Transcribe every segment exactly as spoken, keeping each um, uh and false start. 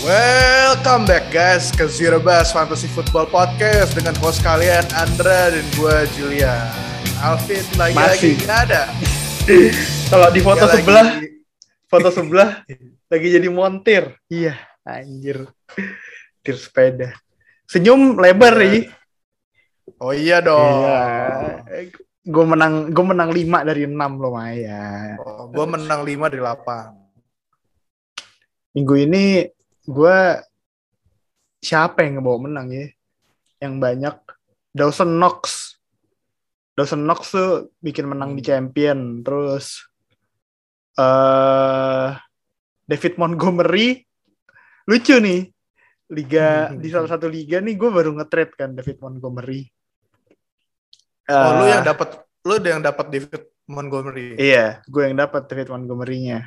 Welcome back guys ke Zero Bus Fantasy Football Podcast dengan host kalian Andra dan gue Julia. Alvin lagi-lagi nggak ada. Kalau di foto Gak sebelah, lagi. foto sebelah lagi jadi montir. Iya, anjir. Tir sepeda. Senyum lebar Iya. ya. Oh iya dong. Iya. Gue menang, gue menang lima dari enam lumayan. Oh, gue menang lima dari delapan. Minggu ini gue siapa yang ngebawa menang ya? Yang banyak Dawson Knox. Dawson Knox tuh bikin menang di champion. Terus uh, David Montgomery lucu nih. Liga di salah satu liga nih gue baru nge-trade kan David Montgomery. Uh, Oh, lu yang dapat, lu yang dapat David Montgomery. Iya, gue yang dapat David Montgomery-nya.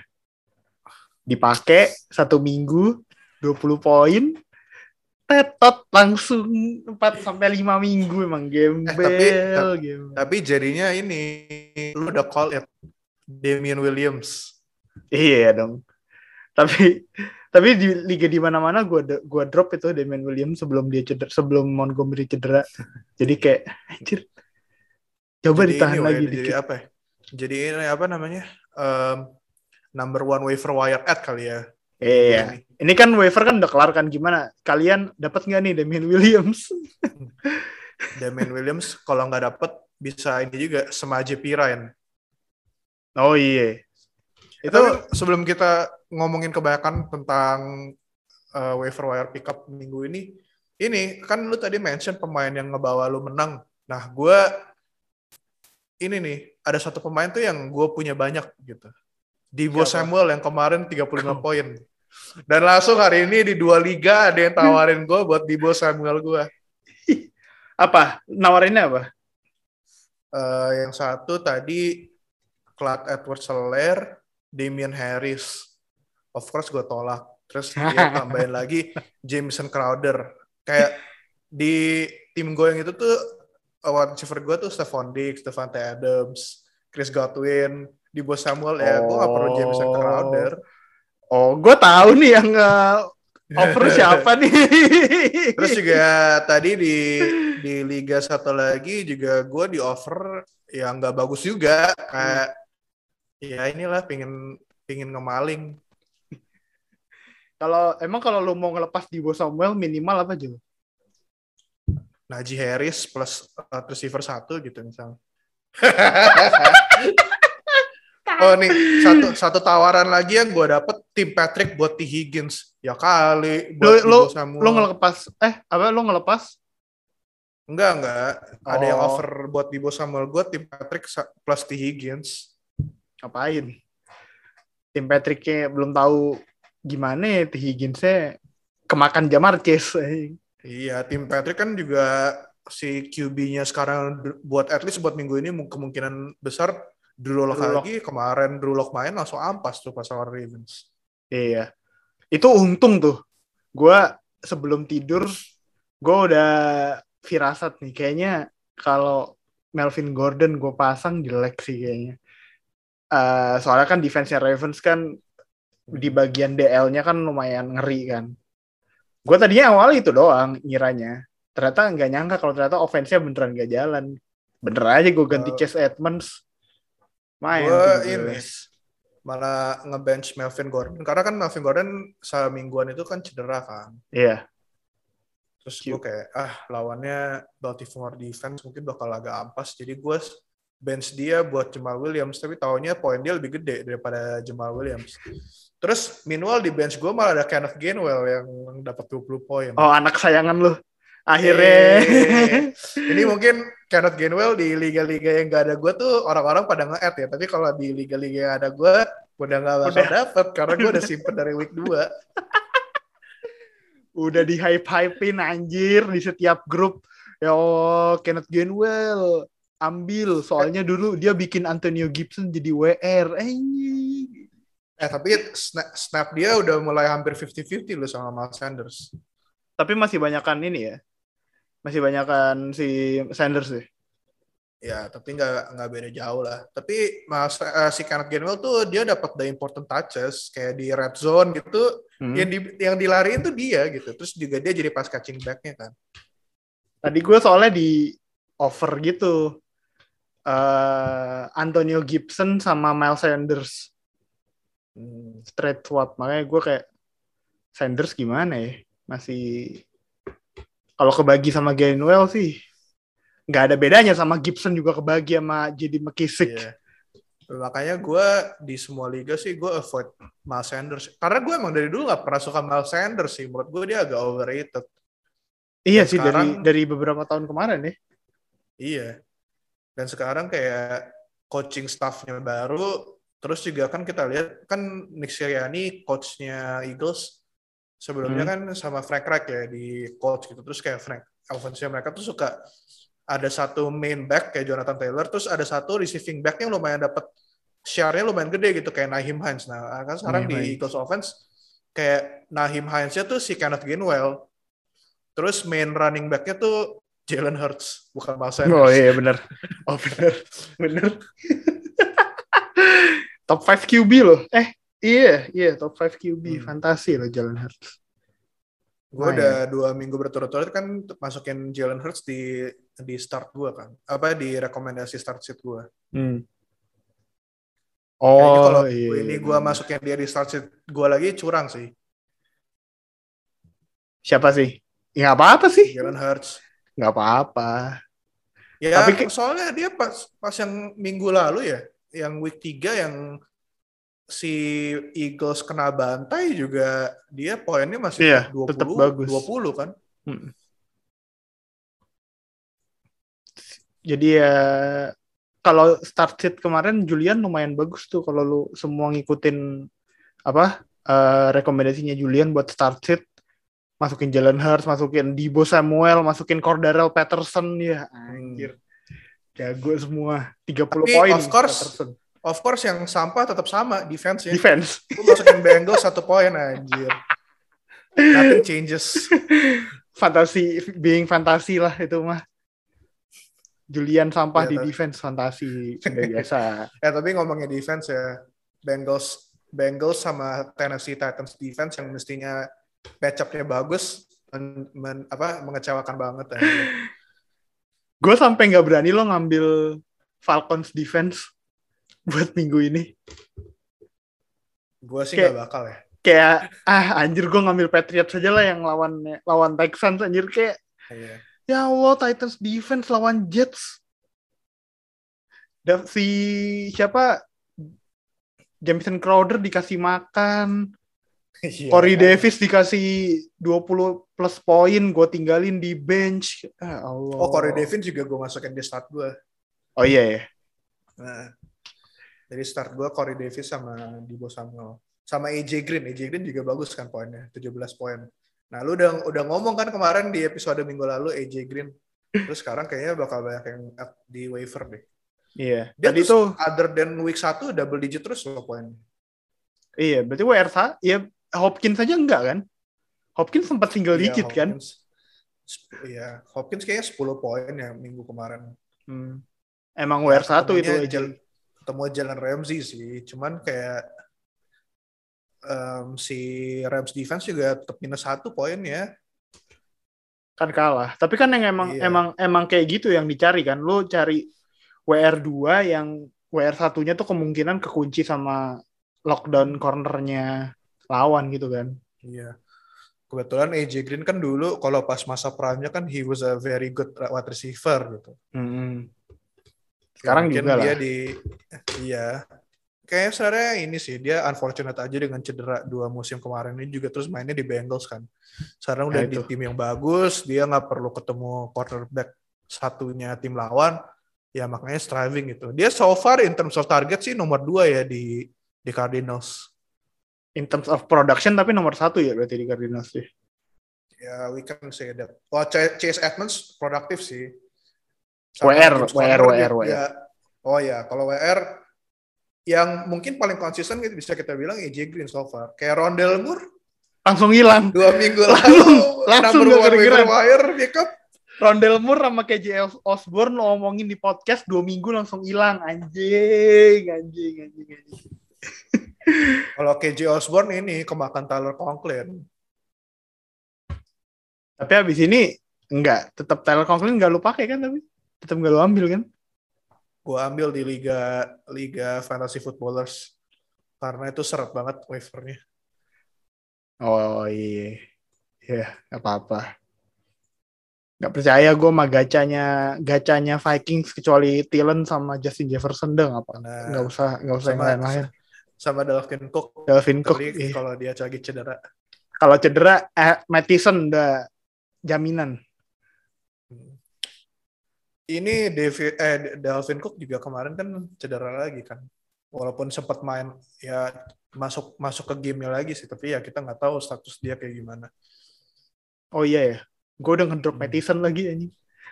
Dipakai satu minggu dua puluh poin. Tetot langsung empat sampai lima minggu emang gembel. Eh, tapi, ta- gembel. tapi jadinya ini lu udah call it Damian Williams. Iya dong. Tapi tapi di liga di mana-mana gue gue drop itu Damian Williams sebelum dia cedera, sebelum Montgomery cedera. Jadi kayak anjir. Coba Jadi ditahan ini, lagi woy, dikit. Jadi apa ya? Jadi ini apa namanya? Um, number one waiver wire ad kali ya. Iya. Ini. Ini kan waiver kan udah kelar kan, gimana? Kalian dapat nggak nih Damian Williams? Damian Williams kalau nggak dapat bisa ini juga Samaje Perine. Oh iya. Itu Tapi sebelum kita ngomongin kebanyakan tentang uh, waiver wire pickup minggu ini, ini kan lu tadi mention pemain yang ngebawa lu menang. Nah, gue ini nih ada satu pemain tuh yang gue punya banyak gitu. Deebo Samuel yang kemarin tiga puluh lima poin. Dan langsung hari ini di dua liga ada yang tawarin gue buat Deebo Samuel gue. Apa? Nawarinnya apa? Uh, yang satu tadi Clyde Edwards-Helaire, Damian Harris. Of course gue tolak. Terus dia tambahin lagi Jameson Crowder. Kayak di tim gue yang itu tuh wide receiver gue tuh Stephon Diggs, Davante Adams, Chris Godwin, Deebo Samuel. Ya gue gak perlu Jameson Crowder. Oh, gue tahu nih yang uh, offer siapa nih. Terus juga tadi di di liga satu lagi juga gue di offer yang nggak bagus juga, kayak hmm. ya inilah pingin pingin ngemaling. Kalau emang kalau lu mau ngelepas Deebo Samuel minimal apa juga? Najee Harris plus uh, receiver satu gitu misalnya. Oh nih satu satu tawaran lagi yang gue dapet Tim Patrick buat T Higgins. Ya kali buat Deebo Samuel. Lo ngelepas eh apa lo ngelepas? Enggak enggak. Oh. Ada yang offer buat Deebo Samuel gue Tim Patrick plus T Higgins. Ngapain? Tim Patricknya belum tahu gimana ya, T Higginsnya kemakan Jamar Chase. Iya, Tim Patrick kan juga si Q B-nya sekarang buat at least buat minggu ini kemungkinan besar Drew Lock lagi. Kemarin Drew Lock main langsung ampas tuh pas lawan Ravens. Iya. Itu untung tuh. Gue sebelum tidur gue udah firasat nih. Kayaknya kalau Melvin Gordon gue pasang jelek sih kayaknya. Uh, soalnya kan defense-nya Ravens kan di bagian D L-nya kan lumayan ngeri kan. Gue tadinya awal itu doang ngiranya. Ternyata nggak nyangka kalau ternyata offense-nya beneran nggak jalan. Bener aja gue ganti uh, Chase Edmonds. Main gue ini malah ngebench Melvin Gordon. Karena kan Melvin Gordon semingguan itu kan cedera kan. Iya. Terus gue kayak, ah lawannya Baltimore defense mungkin bakal agak ampas. Jadi gue bench dia buat Jamal Williams, tapi taunya poin dia lebih gede daripada Jamal Williams. Terus meanwhile di bench gue malah ada Kenneth Gainwell yang dapat dua puluh poin. Oh, anak sayangan lu. Akhirnya. Eee, ini mungkin Kenneth Gainwell di liga-liga yang gak ada gue tuh orang-orang pada nge-add ya. Tapi kalau di liga-liga yang ada gue, udah gak bakal dapet karena gue udah simpen dari week dua. Udah di hype-hypein anjir di setiap grup. Ya oh, Kenneth Gainwell. Ambil, soalnya dulu dia bikin Antonio Gibson jadi W R. Eh, eh tapi snap, snap dia udah mulai hampir fifty fifty loh sama Miles Sanders. Tapi masih banyakan ini ya. Masih banyakan si Sanders sih. Ya, tapi nggak nggak beda jauh lah. Tapi mas uh, si Kenneth Gainwell tuh dia dapat the important touches kayak di red zone gitu, hmm. yang di yang dilariin tuh dia gitu. Terus juga dia jadi pass catching back-nya kan. Tadi gue soalnya di offer gitu uh, Antonio Gibson sama Miles Sanders hmm. straight swap, makanya gue kayak Sanders gimana ya, masih kalau kebagi sama Gainwell sih nggak ada bedanya sama Gibson juga kebagi sama J D McKissic. Yeah. Makanya gue di semua liga sih gue avoid Miles Sanders. Karena gue emang dari dulu gak pernah suka Miles Sanders sih. Menurut gue dia agak overrated. Iya dan sih sekarang, dari dari beberapa tahun kemarin ya. Iya. Dan sekarang kayak coaching staff-nya baru. Terus juga kan kita lihat kan Nick Sirianni coach-nya Eagles. Sebelumnya hmm. kan sama Frank Reich ya di coach gitu. Terus kayak Frank offense-nya mereka tuh suka ada satu main back kayak Jonathan Taylor, terus ada satu receiving back yang lumayan dapat share-nya lumayan gede gitu kayak Nyheim Hines. Nah, kan sekarang Nyheim di Eagles offense kayak Nyheim Hines-nya tuh si Kenneth Gainwell. Terus main running back-nya tuh Jalen Hurts, bukan Miles Sanders. Oh iya benar. Oh benar. Benar. Top lima Q B loh. Eh, iya, iya top lima Q B hmm. fantasi loh Jalen Hurts. Gue nah, udah ya. dua minggu berturut-turut kan masukin Jalen Hurts di di start gue kan, apa di rekomendasi start sheet gue. Hmm. Oh, kalau iya. ini gue masukin dia di start sheet gue lagi curang sih. Siapa sih? Ya nggak apa-apa sih. Jalen Hurts. Nggak apa-apa. Ya tapi soalnya dia pas pas yang minggu lalu ya, yang week tiga yang si Eagles kena bantai juga dia poinnya masih iya, dua puluh tetap bagus. dua puluh kan. Hmm. Jadi ya kalau start sheet kemarin Julian lumayan bagus tuh kalau lu semua ngikutin apa uh, rekomendasinya Julian buat start sheet, masukin Jalen Hurts, masukin Deebo Samuel, masukin Cordarrelle Patterson ya anjir. Jago semua tiga puluh poin of course, Patterson. Of course yang sampah tetap sama defense ya. Defense. Lu masukin Bengals satu poin anjir. Nothing changes. Fantasi being fantasi lah itu mah. Julian sampah ya, di tapi... defense fantasi sudah biasa. Ya tapi ngomongnya defense ya, Bengals Bengals sama Tennessee Titans defense yang mestinya match-up-nya bagus men, men, apa mengecewakan banget ya. Gue sampai nggak berani lo ngambil Falcons defense buat minggu ini. Gue sih nggak bakal ya. Kayak ah anjir gue ngambil Patriots saja lah yang lawan lawan Texans anjir kayak. Iya. Ya Allah Titans defense lawan Jets. Dan si siapa Jamison Crowder dikasih makan. Yeah. Corey Davis dikasih dua puluh plus poin, gue tinggalin di bench. Ah, Allah. Oh Corey Davis juga gue masukin di start gue. Oh iya ya. Nah. Jadi start gue Corey Davis sama Deebo Samuel. Sama A J Green. A J Green juga bagus kan poinnya. tujuh belas poin. Nah lu udah udah ngomong kan kemarin di episode minggu lalu A J Green. Terus sekarang kayaknya bakal banyak yang di waiver deh. Iya. Dia tadi tuh other than week satu double digit terus loh poinnya. Iya. Berarti W R S ya Hopkins saja enggak kan? Hopkins sempat single iya, digit Hopkins, kan? Iya. Hopkins kayaknya sepuluh poin ya minggu kemarin. Hmm. Emang W R satu itu aja. Ketemu Jalen Ramsey sih, cuman kayak um, si Rams defense juga tetap minus satu poin ya. Kan kalah. Tapi kan yang emang iya. emang emang kayak gitu yang dicari kan. Lu cari W R dua yang W R satunya tuh kemungkinan kekunci sama lockdown cornernya lawan gitu kan. Iya. Kebetulan A J Green kan dulu kalau pas masa prime-nya kan he was a very good wide receiver gitu. Mm-hmm. Sekarang ya, juga dia lah. Di, iya. Kayaknya sebenarnya ini sih, dia unfortunate aja dengan cedera dua musim kemarin ini juga terus mainnya di Bengals kan. Sekarang udah ya, di tim yang bagus, dia nggak perlu ketemu quarterback satunya tim lawan, ya makanya striving gitu. Dia so far in terms of target sih nomor dua ya di di Cardinals. In terms of production tapi nomor satu ya berarti di Cardinals sih. Ya, we can say that. Oh, Chase Edmonds produktif sih. W R, W R, W R, W R. Ya, oh ya, kalau W R yang mungkin paling konsisten gitu bisa kita bilang A J Green so far. Kayak Rondale Moore langsung hilang. Dua minggu lalu langsung gak kedengeran. Wire pick up Rondale Moore sama K J Osborne lo ngomongin di podcast dua minggu langsung hilang. Anjing, anjing, anjing, anjing. Kalau K J Osborne ini kemakan Tyler Conklin. Tapi habis ini enggak, tetap Tyler Conklin enggak lu pakai kan, tapi tetap enggak lu ambil kan? Gue ambil di liga liga fantasy footballers karena itu seret banget waivernya. Oh iya, ya nggak apa-apa. Nggak percaya gue sama gacanya gacanya Vikings kecuali Thielen sama Justin Jefferson deh apa? Nah, nggak usah nggak usah sama, yang lain-lain. Sama Dalvin Cook. Dalvin Cook iya. Kalau dia lagi cedera. Kalau cedera, eh, Mattison udah jaminan. Ini David, eh, Dalvin Cook juga kemarin kan cedera lagi kan. Walaupun sempat main ya masuk masuk ke gamenya lagi sih, tapi ya kita nggak tahu status dia kayak gimana. Oh iya ya, gue udah ngedrop hmm. Mattison lagi ini.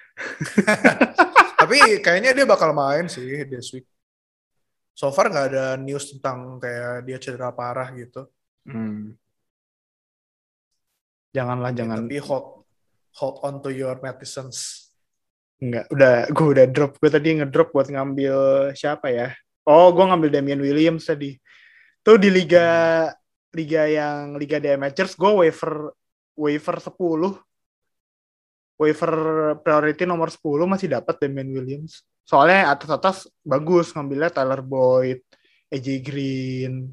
Tapi kayaknya dia bakal main sih this week. So far nggak ada news tentang kayak dia cedera parah gitu. Hmm. Janganlah, ya, jangan. Tapi hold hold on to your Mattisons. Enggak, udah gue udah drop. Gue tadi ngedrop buat ngambil siapa ya? Oh, gue ngambil Damian Williams tadi. Tuh di liga hmm. liga yang liga D M H gue waiver waiver sepuluh. Waiver priority nomor sepuluh masih dapat Damian Williams. Soalnya atas-atas bagus ngambilnya Tyler Boyd, A J Green,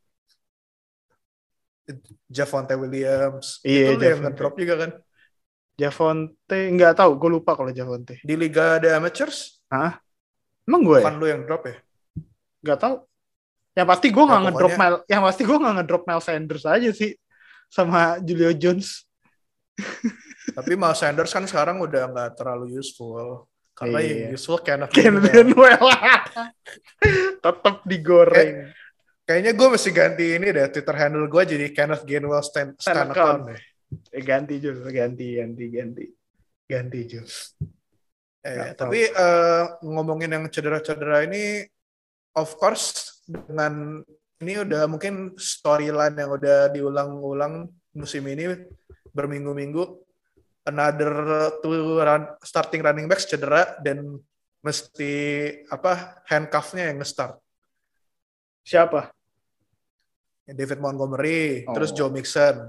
Javonte Williams. Iya, itu yang ngedrop juga kan? Javonte, nggak tahu, gue lupa kalau Javonte. Di Liga The Amateurs? Hah? Emang gue Bukan ya? Lu yang drop ya? Nggak tahu. Yang pasti gue nggak ya, ngedrop Mel, yang pasti gue nggak ngedrop Miles Sanders aja sih sama Julio Jones. Tapi Miles Sanders kan sekarang udah nggak terlalu useful. Karena iya. yang useful Kenneth Gainwell. Tetap digoreng. Kay- kayaknya gue mesti ganti ini deh, Twitter handle gue jadi Kenneth Gainwell stand, stand account deh. Eh, ganti Jul, ganti, ganti, ganti, ganti Jul. Eh, tapi uh, ngomongin yang cedera-cedera ini, of course dengan ini udah mungkin storyline yang udah diulang-ulang musim ini berminggu-minggu, another two run, starting running backs cedera dan mesti apa handcuff-nya yang nge-start. Siapa? David Montgomery, oh. Terus Joe Mixon.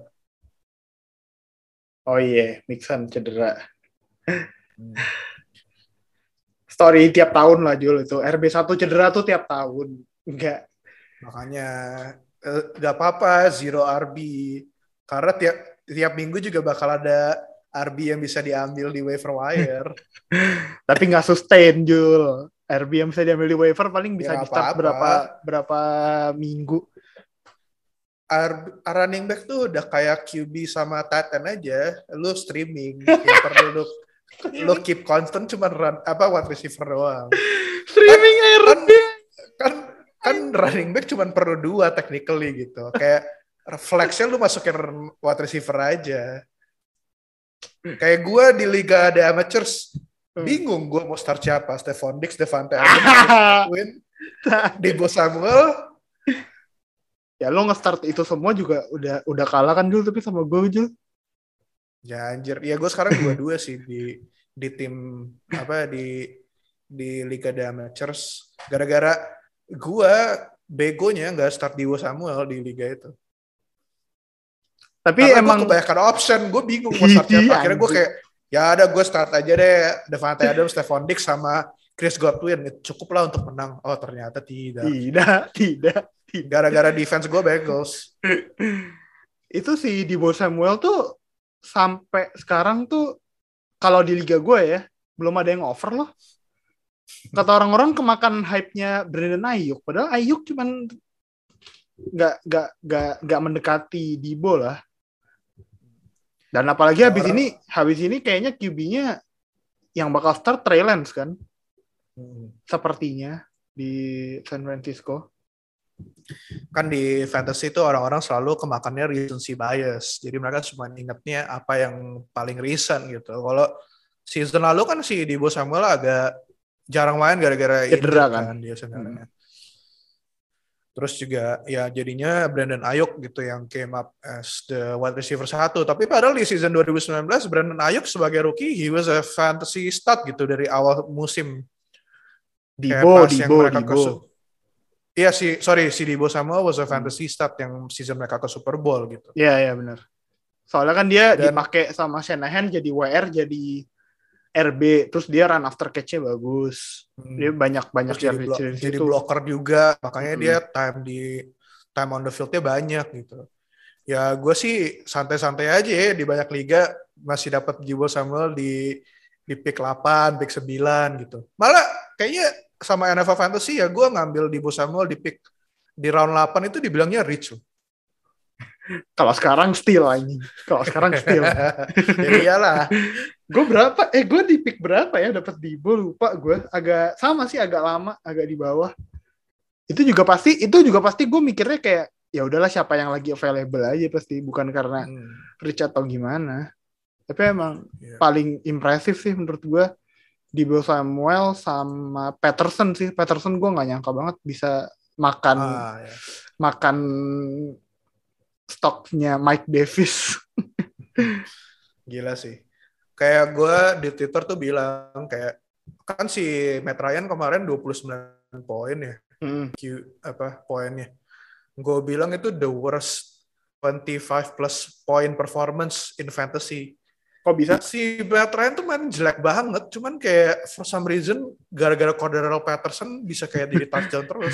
Oh iya, yeah. Mixon cedera. Hmm. Story tiap tahun lah Jul itu. R B satu cedera tuh tiap tahun. Enggak. Makanya eh, gak apa-apa zero R B. Karena tiap tiap minggu juga bakal ada R B yang bisa diambil di waiver wire. Tapi gak sustain Jul. R B yang bisa diambil di waiver paling bisa ya, di start berapa berapa minggu. R- running back tuh udah kayak Q B sama tight end aja, lu streaming, yang perlu lu, lu keep constant cuma run apa wide receiver doang. Streaming kan, R B kan, kan kan running back cuma perlu dua technically gitu, kayak flex-nya lu masukin wide receiver aja. Kayak gue di Liga The Amateurs bingung gue mau start siapa, Stephon Diggs, Devante Adams, Deebo Samuel. Ya lo nge-start itu semua juga udah udah kalah kan Jul, tapi sama gue Jul. Ya anjir, ya gue sekarang dua-dua sih di di tim apa di di Liga The Amateurs. Gara-gara gue begonya nggak start Deebo Samuel di liga itu. Tapi karena emang gue kebanyakan option, gue bingung mau start siapa. Akhirnya gue kayak ya ada gue start aja deh Devante Adams, Stephon Diggs sama Chris Godwin, cukup lah untuk menang. Oh ternyata tidak. Tidak, tidak. Gara-gara defense gue bagels. Itu si Deebo Samuel tuh sampai sekarang tuh kalau di liga gue ya belum ada yang over loh. Kata orang-orang kemakan hype-nya Brandon Ayuk, padahal Ayuk cuman nggak nggak nggak nggak mendekati Deebo lah. Dan apalagi habis orang... ini habis ini kayaknya Q B-nya yang bakal start Trey Lance kan, hmm. sepertinya di San Francisco. Kan di fantasy itu orang-orang selalu kemakannya recency bias. Jadi mereka cuma ingatnya apa yang paling recent gitu. Kalau season lalu kan si Deebo Samuel agak jarang main gara-gara cedera kan, kan dia sebenarnya. Hmm. Terus juga ya jadinya Brandon Ayuk gitu yang came up as the wide receiver satu. Tapi padahal di season dua ribu sembilan belas Brandon Ayuk sebagai rookie he was a fantasy stud gitu dari awal musim. Kayak Dibo, pas yang Dibo, mereka ke Dibo. Su- Iya sih, sorry si Deebo Samuel was a Hmm. fantasy stud yang season mereka ke Super Bowl gitu. Iya, iya benar. Soalnya kan dia Dan dipakai sama Shanahan jadi W R, jadi R B, terus dia run after catch-nya bagus. Dia hmm, banyak-banyak terus jadi yardage blo- dari jadi situ. blocker juga, makanya dia Mm-mm. time di time on the field-nya banyak gitu. Ya gue sih santai-santai aja ya di banyak liga masih dapat Deebo Samuel di di pick delapan, pick sembilan gitu. Malah kayaknya sama N F L Fantasy ya gue ngambil Deebo Samuel di pick di round delapan itu dibilangnya rich loh. Kalau sekarang steal anjing. Kalau sekarang steal. Ya iyalah. Gue berapa? Eh gue di pick berapa ya dapat Dibo, lupa gue. Agak sama sih, agak lama, agak di bawah. Itu juga pasti, itu juga pasti gue mikirnya kayak ya udahlah siapa yang lagi available aja pasti, bukan karena Hmm, rich atau gimana. Tapi emang yeah. paling impresif sih menurut gue Deebo Samuel sama Patterson sih. Patterson gue nggak nyangka banget bisa makan Ah, ya. makan stoknya Mike Davis. Gila sih. Kayak gue di Twitter tuh bilang kayak kan si Matt Ryan kemarin dua puluh sembilan poin ya. Hmm. Q apa poinnya. Gue bilang itu the worst twenty-five plus point performance in fantasy. Kok bisa? Si Matt Ryan tuh main jelek banget, cuman kayak for some reason gara-gara Cordarrelle Patterson bisa kayak jadi touchdown terus.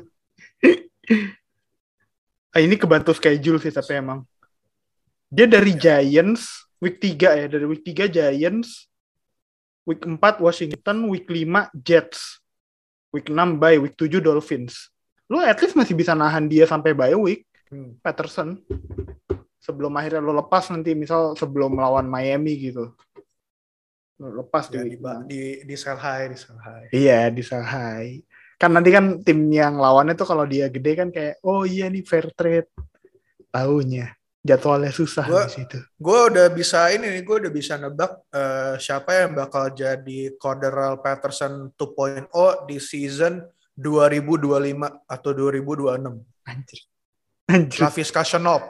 Ah, ini kebantu schedule sih tapi emang. Dia dari Giants week tiga ya, dari week tiga Giants, week empat Washington, week lima Jets, week enam bye, week tujuh Dolphins. Lu at least masih bisa nahan dia sampai bye week, Hmm. Patterson. Sebelum akhirnya lu lepas nanti, misal sebelum melawan Miami gitu. Lu lepas Ya, di di, week enam. di, di sell high, di sell high. Iya, di Shanghai. Kan nanti kan tim yang lawannya tuh kalau dia gede kan kayak, oh iya nih fair trade. Taunya jadwalnya susah Gue di situ. gue udah bisa ini nih, gue udah bisa nebak uh, siapa yang bakal jadi Cordarrelle Patterson dua titik nol di season dua ribu dua puluh lima atau dua ribu dua puluh enam. Anjir. Anjir. Laviska Shenault.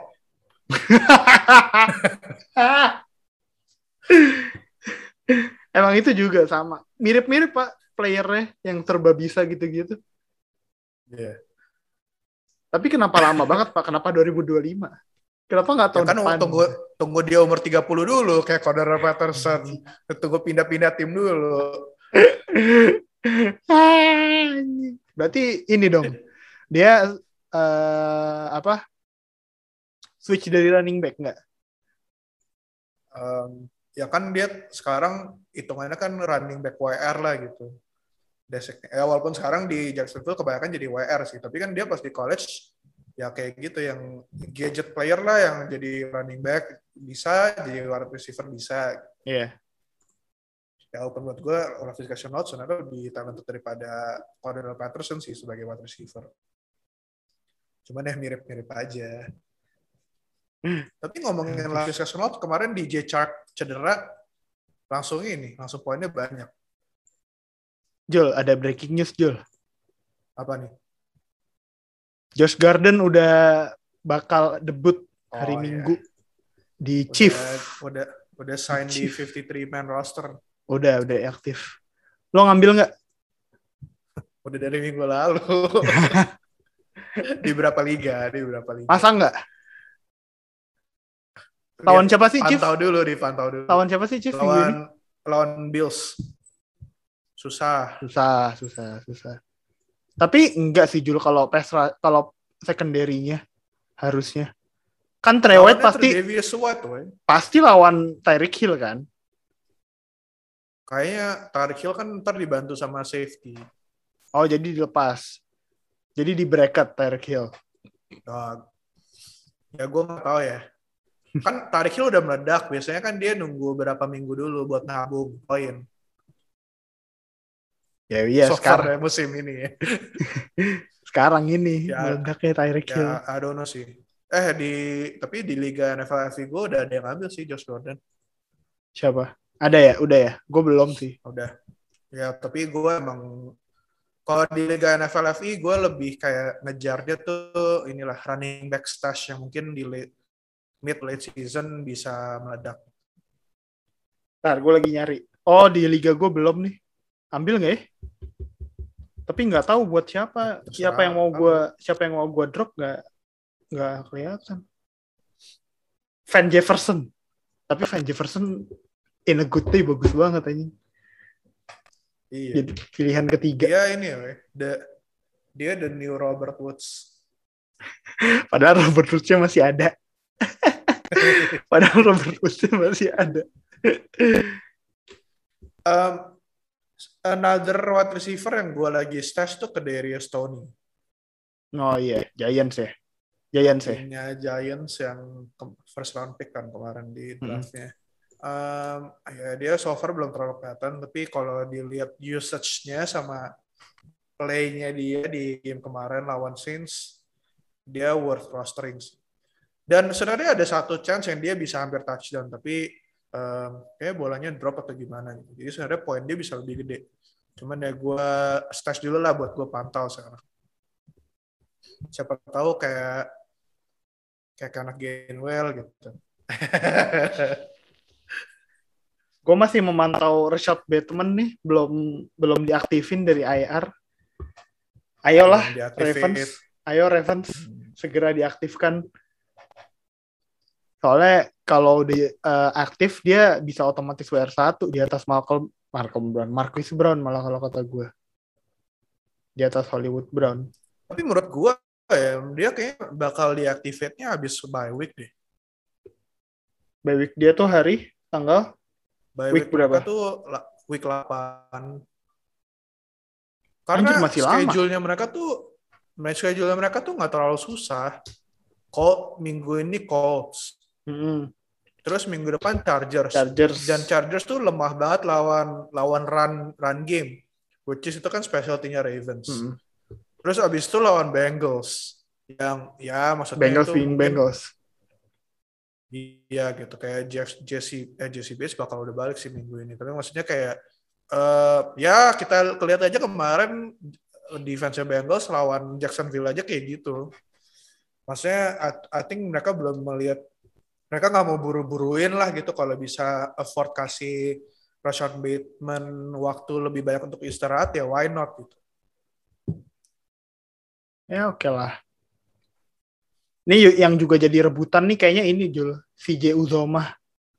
Emang itu juga sama. Mirip-mirip Pak playernya yang serba bisa gitu-gitu. Yeah. Tapi kenapa lama banget Pak? Kenapa dua ribu dua puluh lima? Kenapa nggak Ya tahun kan depan? tunggu tunggu dia umur tiga puluh dulu kayak Cordarrelle Patterson. Tunggu pindah-pindah tim dulu. Berarti ini dong. Dia uh, apa? Switch dari running back nggak? Um, ya kan dia sekarang hitungannya kan running back W R lah gitu. Deseknya. Ya walaupun sekarang di Jacksonville kebanyakan jadi W R sih, tapi kan dia pas di college ya kayak gitu yang gadget player lah yang jadi running back bisa, jadi wide receiver bisa. Iya. Yeah. Ya walaupun buat gue Laviska Shenault sebenarnya lebih talented daripada Cordarrelle Patterson sih sebagai wide receiver. Cuman ya mirip-mirip aja. Tapi ngomongin Laviska Shenault kemarin di J Chark cedera langsung ini, langsung poinnya banyak. Jul, ada breaking news Jul. Apa nih? Josh Garden udah bakal debut hari oh, Minggu iya. di udah, Chief. Udah udah sign di fifty-three man roster. Udah, udah aktif. Lo ngambil nggak? Udah dari minggu lalu. Di berapa liga? Di berapa liga? Masa nggak? Lawan siapa sih, Chief? Pantau dulu, dipantau dulu. Lawan siapa sih, Chief? Lawan, lawan Bills. Susah. Susah, susah, susah. Tapi enggak sih, Jul, kalau pesra, kalau secondary-nya harusnya. Kan Trey White pasti White, pasti lawan Tyreek Hill kan? Kayaknya Tyreek Hill kan ntar dibantu sama safety. Oh, jadi dilepas. Jadi di bracket Tyreek Hill. Nah, ya gue nggak tahu ya. Kan Tyreek Hill udah meledak. Biasanya kan dia nunggu berapa minggu dulu buat nabung poin. Ya iya, so sekarang ya, musim ini ya. Sekarang ini ya, meledaknya Tyreek Hill. Ya, I don't know sih. Eh di tapi di Liga N F L F C gue udah ada yang ambil sih Josh Gordon. Siapa? Ada ya? Udah ya? Gue belum sih. Udah. Ya tapi gue emang Kalau di Liga N F L F I gue lebih kayak ngejar dia tuh inilah running back stash yang mungkin di late, mid late season bisa meledak. Ntar gue lagi nyari. Oh di liga gue belum nih. Ambil nggak ya? Tapi nggak tahu buat siapa. Terserah Siapa yang mau kamu. gue siapa yang mau gue drop nggak nggak kelihatan. Van Jefferson. Tapi Van Jefferson in a good day bagus banget aja. Iya. Jadi pilihan ketiga. Dia ini ya, the, dia the new Robert Woods. Padahal Robert Woods-nya masih ada. Padahal Robert Woods-nya masih ada. um, another wide receiver yang gue lagi stash tuh Kadarius Toney. Oh iya, Giants ya. Giants ya. Timnya Giants yang first round pick kan kemarin di draftnya. Mm-hmm. Um, ya dia so far belum terlalu kelihatan, tapi kalau dilihat usage-nya sama play-nya dia di game kemarin lawan Saints, dia worth rostering. Dan sebenarnya ada satu chance yang dia bisa hampir touchdown, tapi um, kayak bolanya drop atau gimana gitu. Jadi sebenarnya poin dia bisa lebih gede. Cuman ya gue stash dulu lah buat gue pantau sekarang. Siapa tahu kayak kayak anak Gainwell gitu. Gue masih memantau Rashad Bateman nih, belum belum diaktifin dari I R. Ayolah Ravens, ayo Ravens hmm. segera diaktifkan. Soalnya kalau di uh, aktif dia bisa otomatis W R satu di atas Malcolm Malcolm Brown, Marquise Brown malah kalau kata gue. Di atas Hollywood Brown. Tapi menurut gue ya, dia kayaknya bakal diaktifate-nya habis bye week deh. Bye week dia tuh hari tanggal Bye week, week berapa? Tuh week delapan. Karena masih schedule-nya mereka tuh schedule-nya mereka tuh nggak terlalu susah. Colt minggu ini Colts. Mm-hmm. Terus minggu depan Chargers. Chargers. Dan Chargers tuh lemah banget lawan lawan run run game. Which is itu kan specialty-nya Ravens. Mm-hmm. Terus abis itu lawan Bengals. Yang ya maksudnya Bengals itu mungkin Bengals. Iya gitu kayak Jeff, Jesse eh Jesse Bates bakal udah balik sih minggu ini. Tapi maksudnya kayak uh, ya kita lihat aja kemarin defense Bengals lawan Jacksonville aja kayak gitu. Maksudnya I, I think mereka belum melihat, mereka nggak mau buru-buruin lah gitu kalau bisa afford kasih Rashad Bateman waktu lebih banyak untuk istirahat ya why not gitu. Ya oke okay lah. Ini yang juga jadi rebutan nih kayaknya ini Jul, C J Uzomah.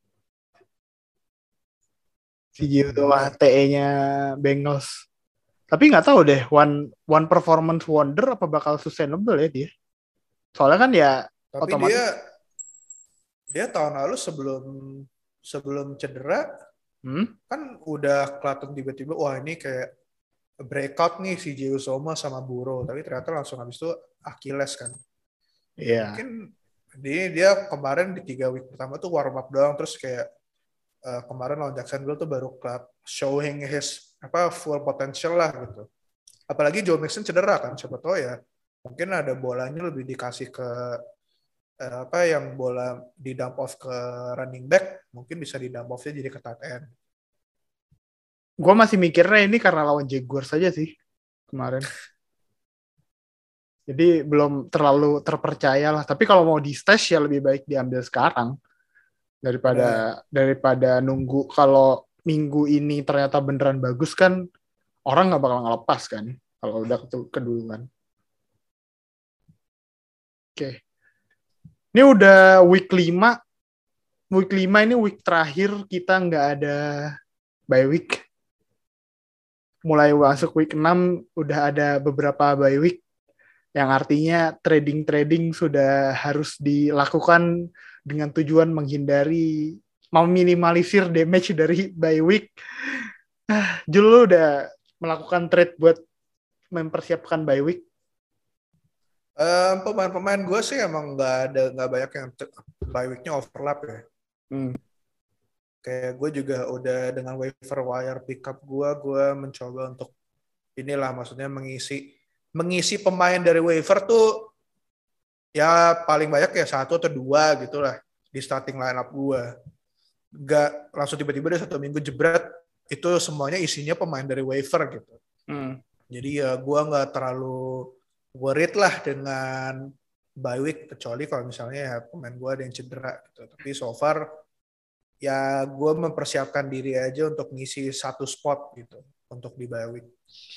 C J Uzomah T E-nya Bengals. Tapi nggak tahu deh, one one performance wonder apa bakal sustainable ya dia. Soalnya kan ya tapi otomatis dia dia tahun lalu sebelum sebelum cedera hmm? kan udah kelihatan tiba-tiba wah ini kayak breakout nih C J Uzomah sama Burrow, tapi ternyata langsung habis itu Achilles kan. Iya. Yeah. Mungkin dia, dia kemarin di tiga week pertama tuh warm up doang, terus kayak uh, kemarin lawan Jacksonville tuh baru club showing his apa full potential lah gitu. Apalagi Joe Mixon cedera kan, siapa tahu ya mungkin ada bolanya lebih dikasih ke uh, apa yang bola di dump off ke running back, mungkin bisa di dump offnya jadi ke tight end. Gue masih mikirnya ini karena lawan Jaguars saja sih kemarin. Jadi belum terlalu terpercaya lah. Tapi kalau mau di stash ya lebih baik diambil sekarang daripada nah. daripada nunggu. Kalau minggu ini ternyata beneran bagus kan orang nggak bakal ngelepas kan kalau udah keduluan. Oke. Okay. Ini udah week lima. Week lima ini week terakhir kita nggak ada bye week. Mulai masuk week enam udah ada beberapa bye week. Yang artinya trading-trading sudah harus dilakukan dengan tujuan menghindari, meminimalisir damage dari bye week. Ah, Jul, lu udah melakukan trade buat mempersiapkan bye week? Um, pemain-pemain gue sih emang nggak ada nggak banyak yang bye weeknya overlap ya. Hmm. Kayak gue juga udah dengan waiver wire pickup gue, gue mencoba untuk inilah maksudnya mengisi mengisi pemain dari waiver tuh ya paling banyak ya satu atau dua gitulah di starting lineup gue. Gak langsung tiba-tiba dari satu minggu jebret itu semuanya isinya pemain dari waiver gitu. Hmm. Jadi ya gue nggak terlalu worried lah dengan bye week, kecuali kalau misalnya ya pemain gue ada yang cedera gitu. Tapi so far ya gue mempersiapkan diri aja untuk ngisi satu spot gitu untuk di bye week.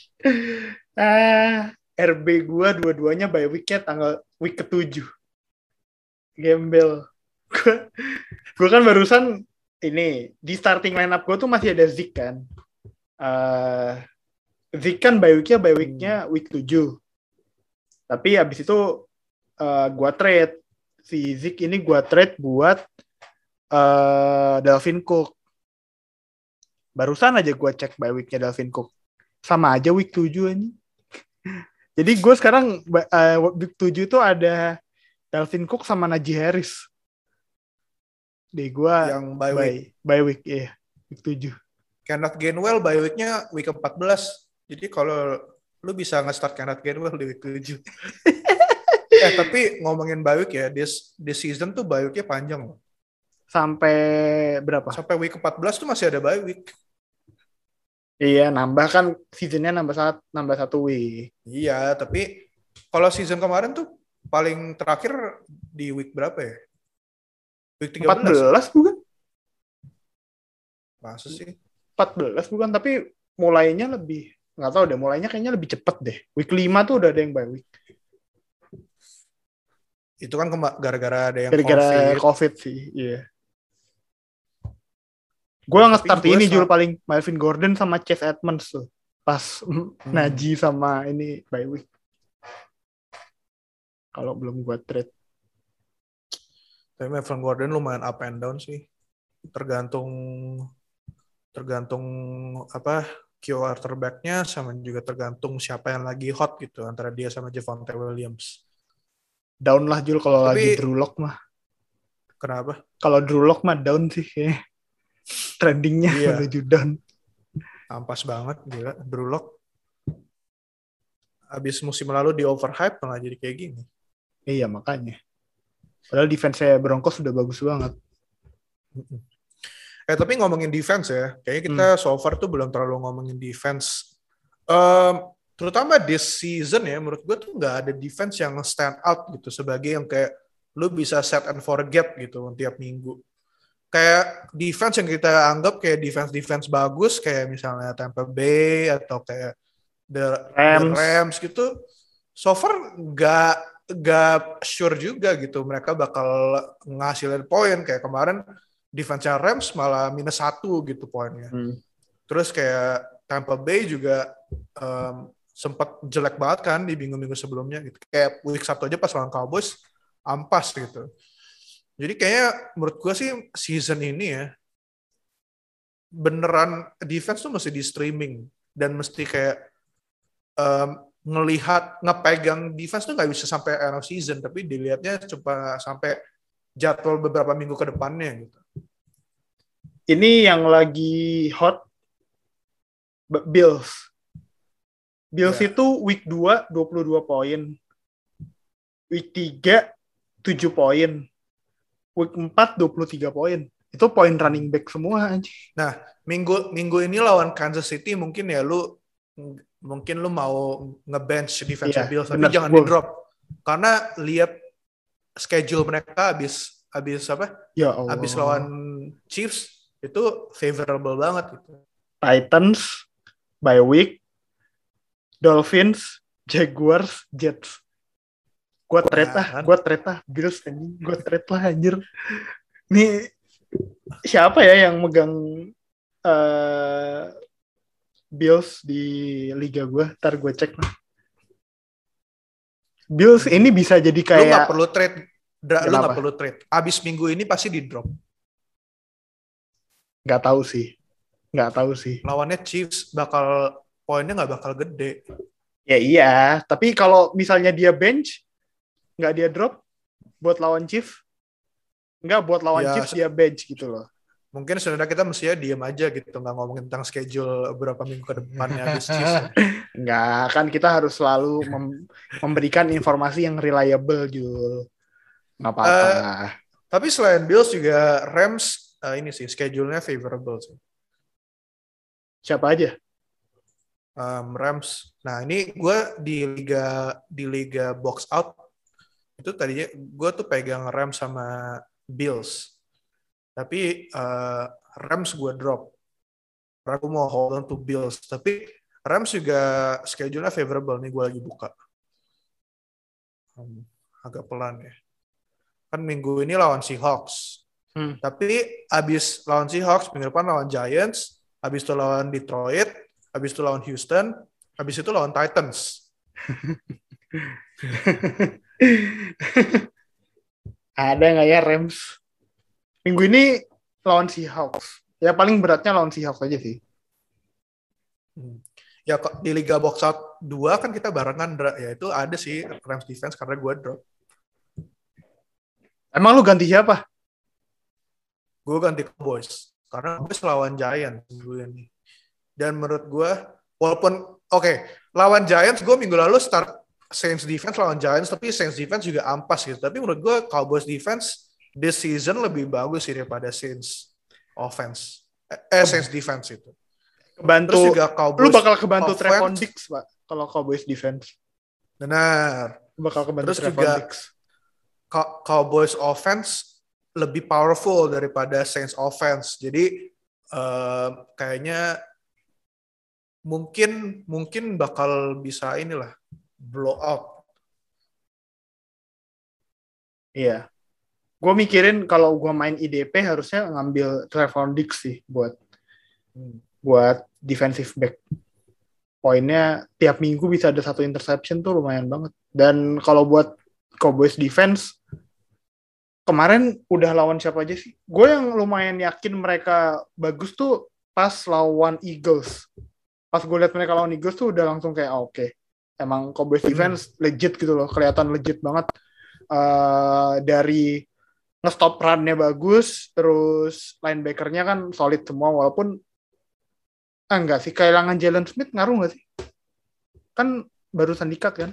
Ah, R B gua dua-duanya bye week-nya tanggal week ketujuh. Gembel. Gua, gua kan barusan ini di starting lineup gua tuh masih ada Zik kan. Uh, Zik kan bye week-nya bye week-nya week tujuh. Tapi abis itu uh, gua trade si Zik ini gua trade buat uh, Dalvin Cook. Barusan aja gua cek bye week-nya Dalvin Cook. Sama aja week tujuh ini. Jadi gue sekarang uh, week tujuh itu ada Dalvin Cook sama Najee Harris. Di gue yang bye by, week. By week, iya. Week tujuh. Kenneth Gainwell bye week-nya week empat belas. Jadi kalau lu bisa nge-start Kenneth Gainwell di week tujuh. eh tapi ngomongin bye week ya, this, this season tuh bye week-nya panjang loh. Sampai berapa? Sampai week empat belas tuh masih ada bye week. Iya, nambah kan seasonnya nambah satu, nambah satu week. Iya, tapi kalau season kemarin tuh paling terakhir di week berapa ya? Week tiga belas. empat belas ya? Bukan? Masa sih? empat belas bukan, tapi mulainya lebih, nggak tahu deh, mulainya kayaknya lebih cepet deh. Week lima tuh udah ada yang bye week. Itu kan gara-gara ada yang gara-gara COVID. COVID sih, iya. Gue nge-start ini Jul paling Melvin Gordon sama Chase Edmonds tuh. Pas hmm. Najee sama ini bye week. Kalau belum gue trade. Tapi Melvin Gordon lumayan up and down sih. Tergantung tergantung apa quarterback-nya sama juga tergantung siapa yang lagi hot gitu antara dia sama Javonte Williams. Down lah Jul kalau lagi Drew Lock mah. Kenapa? Kalau Drew Lock mah down sih kayaknya. Trendingnya iya. Menuju down. Ampas banget gila Drew Lock. Abis musim lalu di overhype malah jadi kayak gini. Iya makanya. Padahal defense-nya Broncos sudah bagus banget. Eh tapi ngomongin defense ya, kayaknya kita hmm. so far tuh belum terlalu ngomongin defense. Um, terutama this season ya, menurut gue tuh nggak ada defense yang stand out gitu sebagai yang kayak lu bisa set and forget gitu tiap minggu. Kayak defense yang kita anggap kayak defense-defense bagus, kayak misalnya Tampa Bay atau kayak the Rams, the Rams gitu. So far nggak nggak sure juga gitu mereka bakal ngasilin poin. Kayak kemarin defense-nya Rams malah minus satu gitu poinnya. Hmm. Terus kayak Tampa Bay juga um, sempat jelek banget kan di minggu-minggu sebelumnya gitu. Kayak week satu aja pas lawan Cowboys ampas gitu. Jadi kayaknya menurut gue sih season ini ya beneran defense tuh mesti di streaming dan mesti kayak um, ngelihat ngepegang defense tuh nggak bisa sampai end of season tapi dilihatnya coba sampai jadwal beberapa minggu ke depannya gitu. Ini yang lagi hot Bills. Bills yeah. itu week dua dua puluh dua poin. Week tiga tujuh poin. Week empat dua puluh tiga poin. Itu poin running back semua aja. Nah, minggu minggu ini lawan Kansas City mungkin ya lu mungkin lu mau nge-bench defense yeah, Bills tapi jangan di-drop. Karena lihat schedule mereka habis habis apa? Ya Allah. Habis lawan Chiefs itu favorable banget gitu. Titans bye week, Dolphins, Jaguars, Jets. Gue trade lah, gue trade lah, Bills anjing, gue trade lah anjir. Nih siapa ya yang megang uh, Bills di liga gue? Ntar gue cek lah. Bills hmm. ini bisa jadi kayak. Lu nggak perlu trade, Dra, lu nggak perlu trade. Abis minggu ini pasti di drop. Nggak tahu sih, nggak tahu sih. Lawannya Chiefs bakal poinnya nggak bakal gede. Ya iya, tapi kalau misalnya dia bench, nggak dia drop buat lawan Chiefs, nggak buat lawan ya, Chiefs dia bench gitu loh. Mungkin sebenarnya kita mestinya diam aja gitu, nggak ngomongin tentang schedule beberapa minggu ke depannya habis Chiefs. Nggak, kan kita harus selalu mem- memberikan informasi yang reliable gitu. Nggak apa-apa. Uh, tapi selain Bills juga Rams uh, ini sih schedule-nya favorable sih. Siapa aja? um, Rams. Nah ini gue di liga di liga box out itu tadinya gue tuh pegang Rams sama Bills, tapi uh, Rams gue drop. Aku mau hold on to Bills, tapi Rams juga schedule-nya favorable nih, gue lagi buka. Hmm, agak pelan ya. Kan minggu ini lawan Seahawks. Hmm. Tapi abis lawan Seahawks, minggu depan lawan Giants, abis itu lawan Detroit, abis itu lawan Houston, abis itu lawan Titans. Ada nggak ya Rams? Minggu ini lawan Seahawks. Ya paling beratnya lawan Seahawks aja sih. Hmm. Ya di Liga Box Out dua kan kita barengan, ya itu ada sih Rams defense karena gue drop. Emang lu ganti siapa? Gue ganti Cowboys karena gue lawan Giants minggu ini. Dan menurut gue, walaupun oke okay, lawan Giants gue minggu lalu start Saints defense lawan Giants, tapi Saints defense juga ampas gitu. Tapi menurut gue Cowboys defense this season lebih bagus sih daripada Saints offense. Eh Saints defense itu. Kebantu, terus juga Cowboys lu bakal kebantu Trevon Diggs, Pak, kalau Cowboys defense. Benar. Lu bakal kebantu terus Trevon juga Diggs. Cowboys offense lebih powerful daripada Saints offense. Jadi uh, kayaknya mungkin mungkin bakal bisa inilah blow out. Iya. Gue mikirin kalau gue main I D P harusnya ngambil Trevon Diggs sih buat hmm. buat defensive back. Poinnya tiap minggu bisa ada satu interception tuh lumayan banget. Dan kalau buat Cowboys defense kemarin udah lawan siapa aja sih? Gue yang lumayan yakin mereka bagus tuh pas lawan Eagles. Pas gue liat mereka lawan Eagles tuh udah langsung kayak oh, oke. Okay. Emang Cowboys defense legit gitu loh. Kelihatan legit banget. Uh, dari nge-stop run-nya bagus, terus linebacker-nya kan solid semua, walaupun ah enggak sih, kehilangan Jalen Smith ngaruh nggak sih? Kan barusan di-cut kan?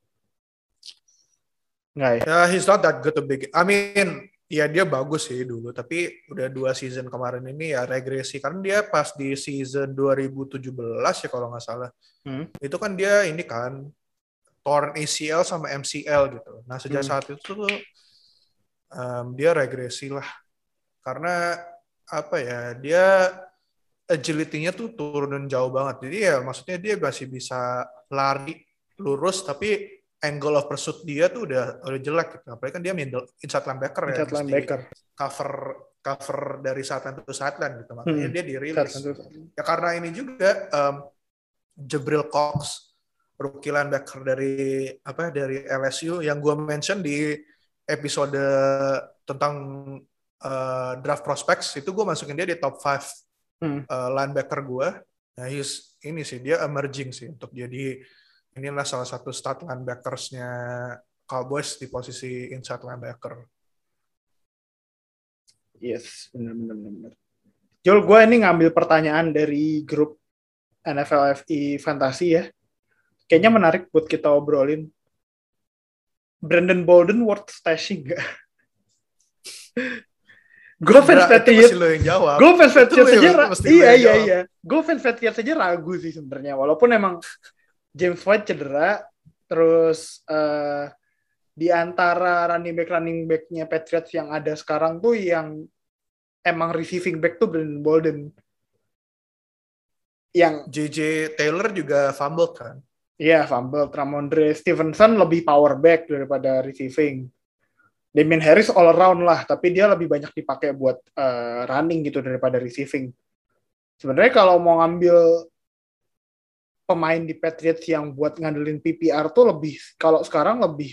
Nggak ya? Yeah, he's not that good to begin. I mean, ya dia bagus sih dulu, tapi udah dua season kemarin ini ya regresi. Karena dia pas di season dua ribu tujuh belas ya kalau nggak salah. Hmm. Itu kan dia ini kan torn A C L sama M C L gitu. Nah sejak hmm. saat itu tuh um, dia regresi lah. Karena apa ya, dia agility-nya tuh turun jauh banget. Jadi ya maksudnya dia masih bisa lari lurus, tapi angle of pursuit dia tuh udah udah jelek gitu. Apalagi kan dia middle inside linebacker ya, inside linebacker. cover cover dari sideline to sideline gitu. Makanya hmm. dia dirilis. Ya karena ini juga um, Jabril Cox, rookie linebacker dari apa dari L S U yang gue mention di episode tentang uh, draft prospects itu, gue masukin dia di top five hmm. uh, linebacker gue. Nah, he's ini sih dia emerging sih untuk jadi inilah salah satu start linebackers-nya Cowboys di posisi inside linebacker. Yes, benar-benar. Jol, gue ini ngambil pertanyaan dari grup N F L F I Fantasy ya. Kayaknya menarik buat kita obrolin. Brandon Bolden worth stashing gak? Gue fans Patriots. Gue fans Patriots saja. Iya iya iya. Gue fans Patriots saja ragu sih sebenarnya. Walaupun emang James White cedera, terus uh, di antara running back running back-nya Patriots yang ada sekarang tuh yang emang receiving back tuh Brandon Bolden. Yang J J Taylor juga fumble kan? Iya, fumble. Ramondre Stevenson lebih power back daripada receiving. Damien Harris all around lah, tapi dia lebih banyak dipakai buat uh, running gitu daripada receiving. Sebenarnya kalau mau ngambil pemain di Patriots yang buat ngandelin P P R tuh lebih, kalau sekarang lebih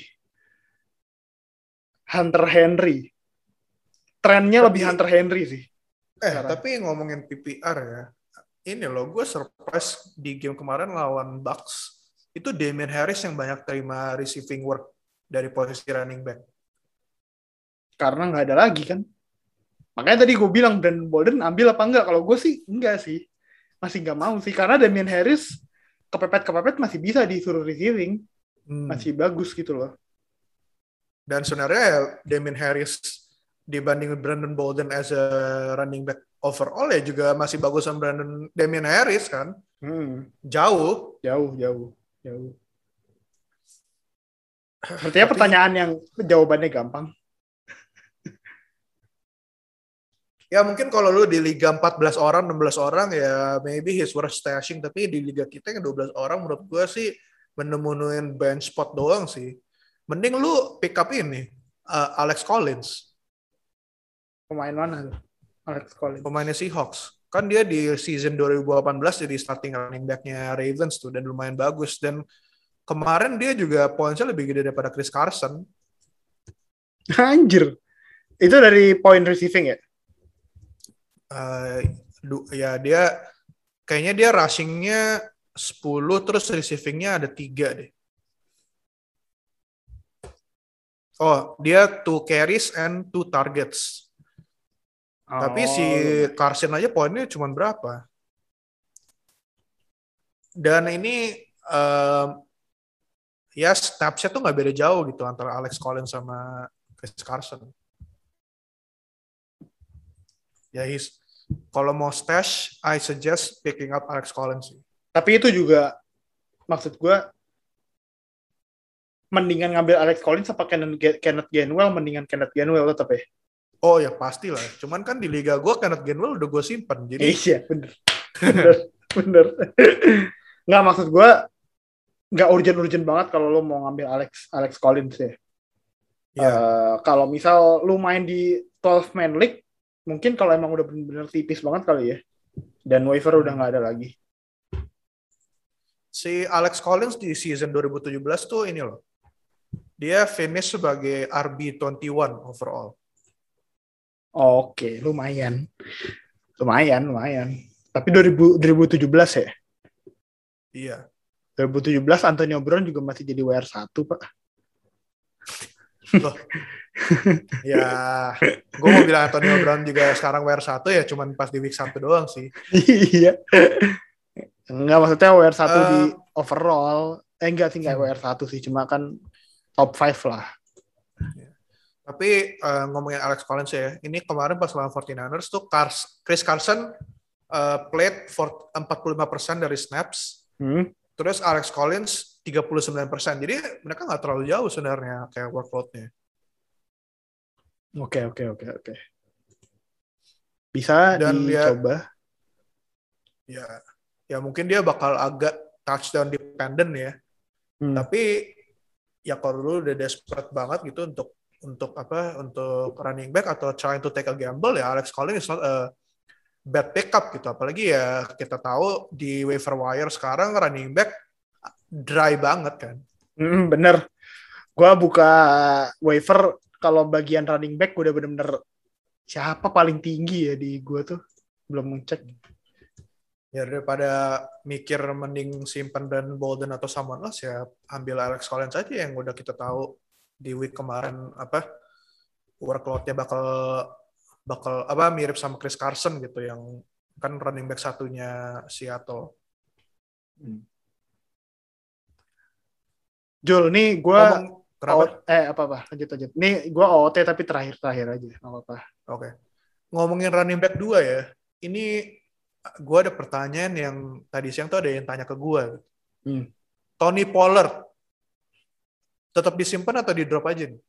Hunter Henry. Trennya tapi, lebih Hunter Henry sih. Eh, sekarang. Tapi ngomongin P P R ya, ini loh, gue surprise di game kemarin lawan Bucks. Itu Damien Harris yang banyak terima receiving work dari posisi running back. Karena nggak ada lagi kan. Makanya tadi gue bilang Brandon Bolden ambil apa enggak. Kalau gue sih enggak sih. Masih nggak mau sih. Karena Damien Harris kepepet-kepepet masih bisa disuruh receiving. Hmm. Masih bagus gitu loh. Dan sebenarnya Damien Harris dibanding Brandon Bolden as a running back overall ya juga masih bagus sama Brandon Damien Harris kan. Hmm. Jauh. Jauh, jauh, jauh. Sepertinya Tapi, pertanyaan yang jawabannya gampang. ya mungkin kalau lu di liga empat belas orang, enam belas orang ya maybe he's worth stashing. Tapi di liga kita yang dua belas orang menurut gue sih menemunuin bench spot doang sih. Mending lu pick up ini, uh, Alex Collins. Pemain mana tuh? Alex Collins. Pemainnya Seahawks. Kan dia di season dua ribu delapan belas jadi starting running back-nya Ravens tuh dan lumayan bagus. Dan kemarin dia juga poinnya lebih gede daripada Chris Carson. Anjir. Itu dari point receiving ya? Uh, ya dia kayaknya dia rushing-nya sepuluh terus receiving-nya ada tiga deh. Oh, dia two carries and two targets. Oh, tapi si Carson aja poinnya cuma berapa? Dan ini um, ya snapsnya tuh nggak beda jauh gitu antara Alex Collins sama Chris Carson. Ya, he's kalau mau stash, I suggest picking up Alex Collins. Tapi itu juga maksud gue mendingan ngambil Alex Collins apa Kenneth Gainwell, mendingan Kenneth Gainwell tetap ya. Oh ya pastilah. Cuman kan di liga gue Kenneth Gainwell udah gue simpen. Jadi iya bener, bener, bener. Nggak maksud gue nggak urgent-urgent banget kalau lo mau ngambil Alex Alex Collins ya. Yeah. Uh, kalau misal lo main di twelve man league, mungkin kalau emang udah bener-bener tipis banget kali ya. Dan waiver udah nggak ada lagi. Si Alex Collins di season dua ribu tujuh belas tuh ini loh. Dia finish sebagai R B dua puluh satu overall. Oke, lumayan. Lumayan, lumayan. Tapi dua ribu tujuh belas ya? Iya. dua ribu tujuh belas Antonio Brown juga masih jadi W R satu, Pak. Loh. Ya, gue mau bilang Antonio Brown juga sekarang W R satu ya, cuman pas di week satu doang sih. Iya. Enggak, maksudnya W R satu uh, di overall. Eh, enggak sih, enggak hmm. W R satu sih. Cuma kan top lima lah. Ya. Tapi uh, ngomongin Alex Collins ya, ini kemarin pas lawan forty-niners tuh Cars, Chris Carson uh, played for empat puluh lima persen dari snaps. Hmm. Terus Alex Collins tiga puluh sembilan persen. Jadi mereka nggak terlalu jauh sebenarnya kayak workload-nya. Oke, oke, oke, oke. Bisa dan dicoba. Ya, ya, ya mungkin dia bakal agak touchdown dependent ya. Hmm. Tapi ya kalau lu udah desperate banget gitu untuk untuk apa? Untuk running back atau trying to take a gamble ya Alex Collins is not a bad pickup gitu. Apalagi ya kita tahu di waiver wire sekarang running back dry banget kan. Hmm, bener. Gua buka waiver kalau bagian running back udah bener-bener siapa paling tinggi ya di gua tuh. Belum ngecek. Ya daripada mikir mending simpen dan Bolden atau someone else ya ambil Alex Collins aja yang udah kita tahu di week kemarin apa workload-nya bakal bakal apa mirip sama Chris Carson gitu yang kan running back satunya Seattle. Hmm. Jul, nih gue Kenapa? eh apa apa lanjut lanjut. Nih gue O O T tapi terakhir terakhir aja nggak apa-apa. Oke. Okay. Ngomongin running back dua ya. Ini gue ada pertanyaan yang tadi siang tuh ada yang tanya ke gue. Hmm. Tony Pollard tetap disimpan atau di drop aja nih?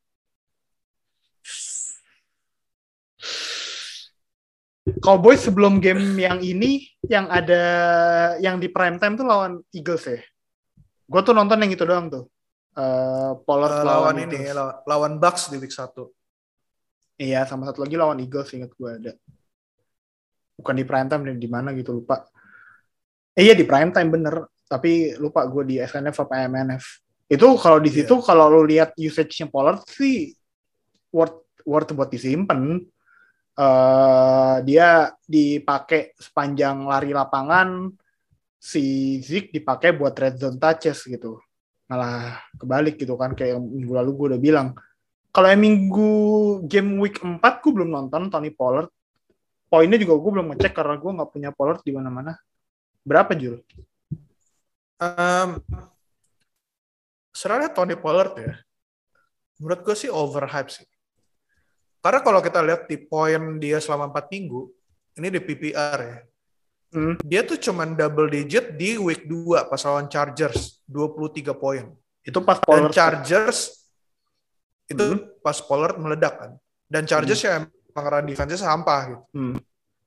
Cowboys sebelum game yang ini yang ada yang di prime time tuh lawan Eagles ya. Gue tuh nonton yang itu doang tuh. Uh, Pollard uh, lawan, lawan ini lawan, lawan Bucks di week satu. Iya, sama satu lagi lawan Eagles ingat gue ada. Bukan di prime time di mana gitu lupa. Eh, iya di prime time bener, tapi lupa gue di S N F apa M N F. Itu kalau di situ yeah. Kalau lu lihat usage-nya Pollard sih worth worth buat disimpan. Uh, dia dipakai sepanjang lari lapangan, si Zeke dipakai buat red zone touches gitu. Malah kebalik gitu kan, kayak minggu lalu gue udah bilang. Kalau yang minggu game week empat gue belum nonton Tony Pollard. Poinnya juga gue belum ngecek karena gue nggak punya Pollard di mana-mana. Berapa Jul? Um, Sebenarnya Tony Pollard ya, menurut gue sih overhype sih. Karena kalau kita lihat di poin dia selama empat minggu, ini di P P R ya, Hmm. Dia tuh cuman double digit di week dua pas lawan Chargers, dua puluh tiga poin. Itu pas Dan Pollard. Chargers itu Hmm. pas Pollard meledak kan. Dan Chargers hmm. ya emang run defense-nya sampah gitu. Hmm.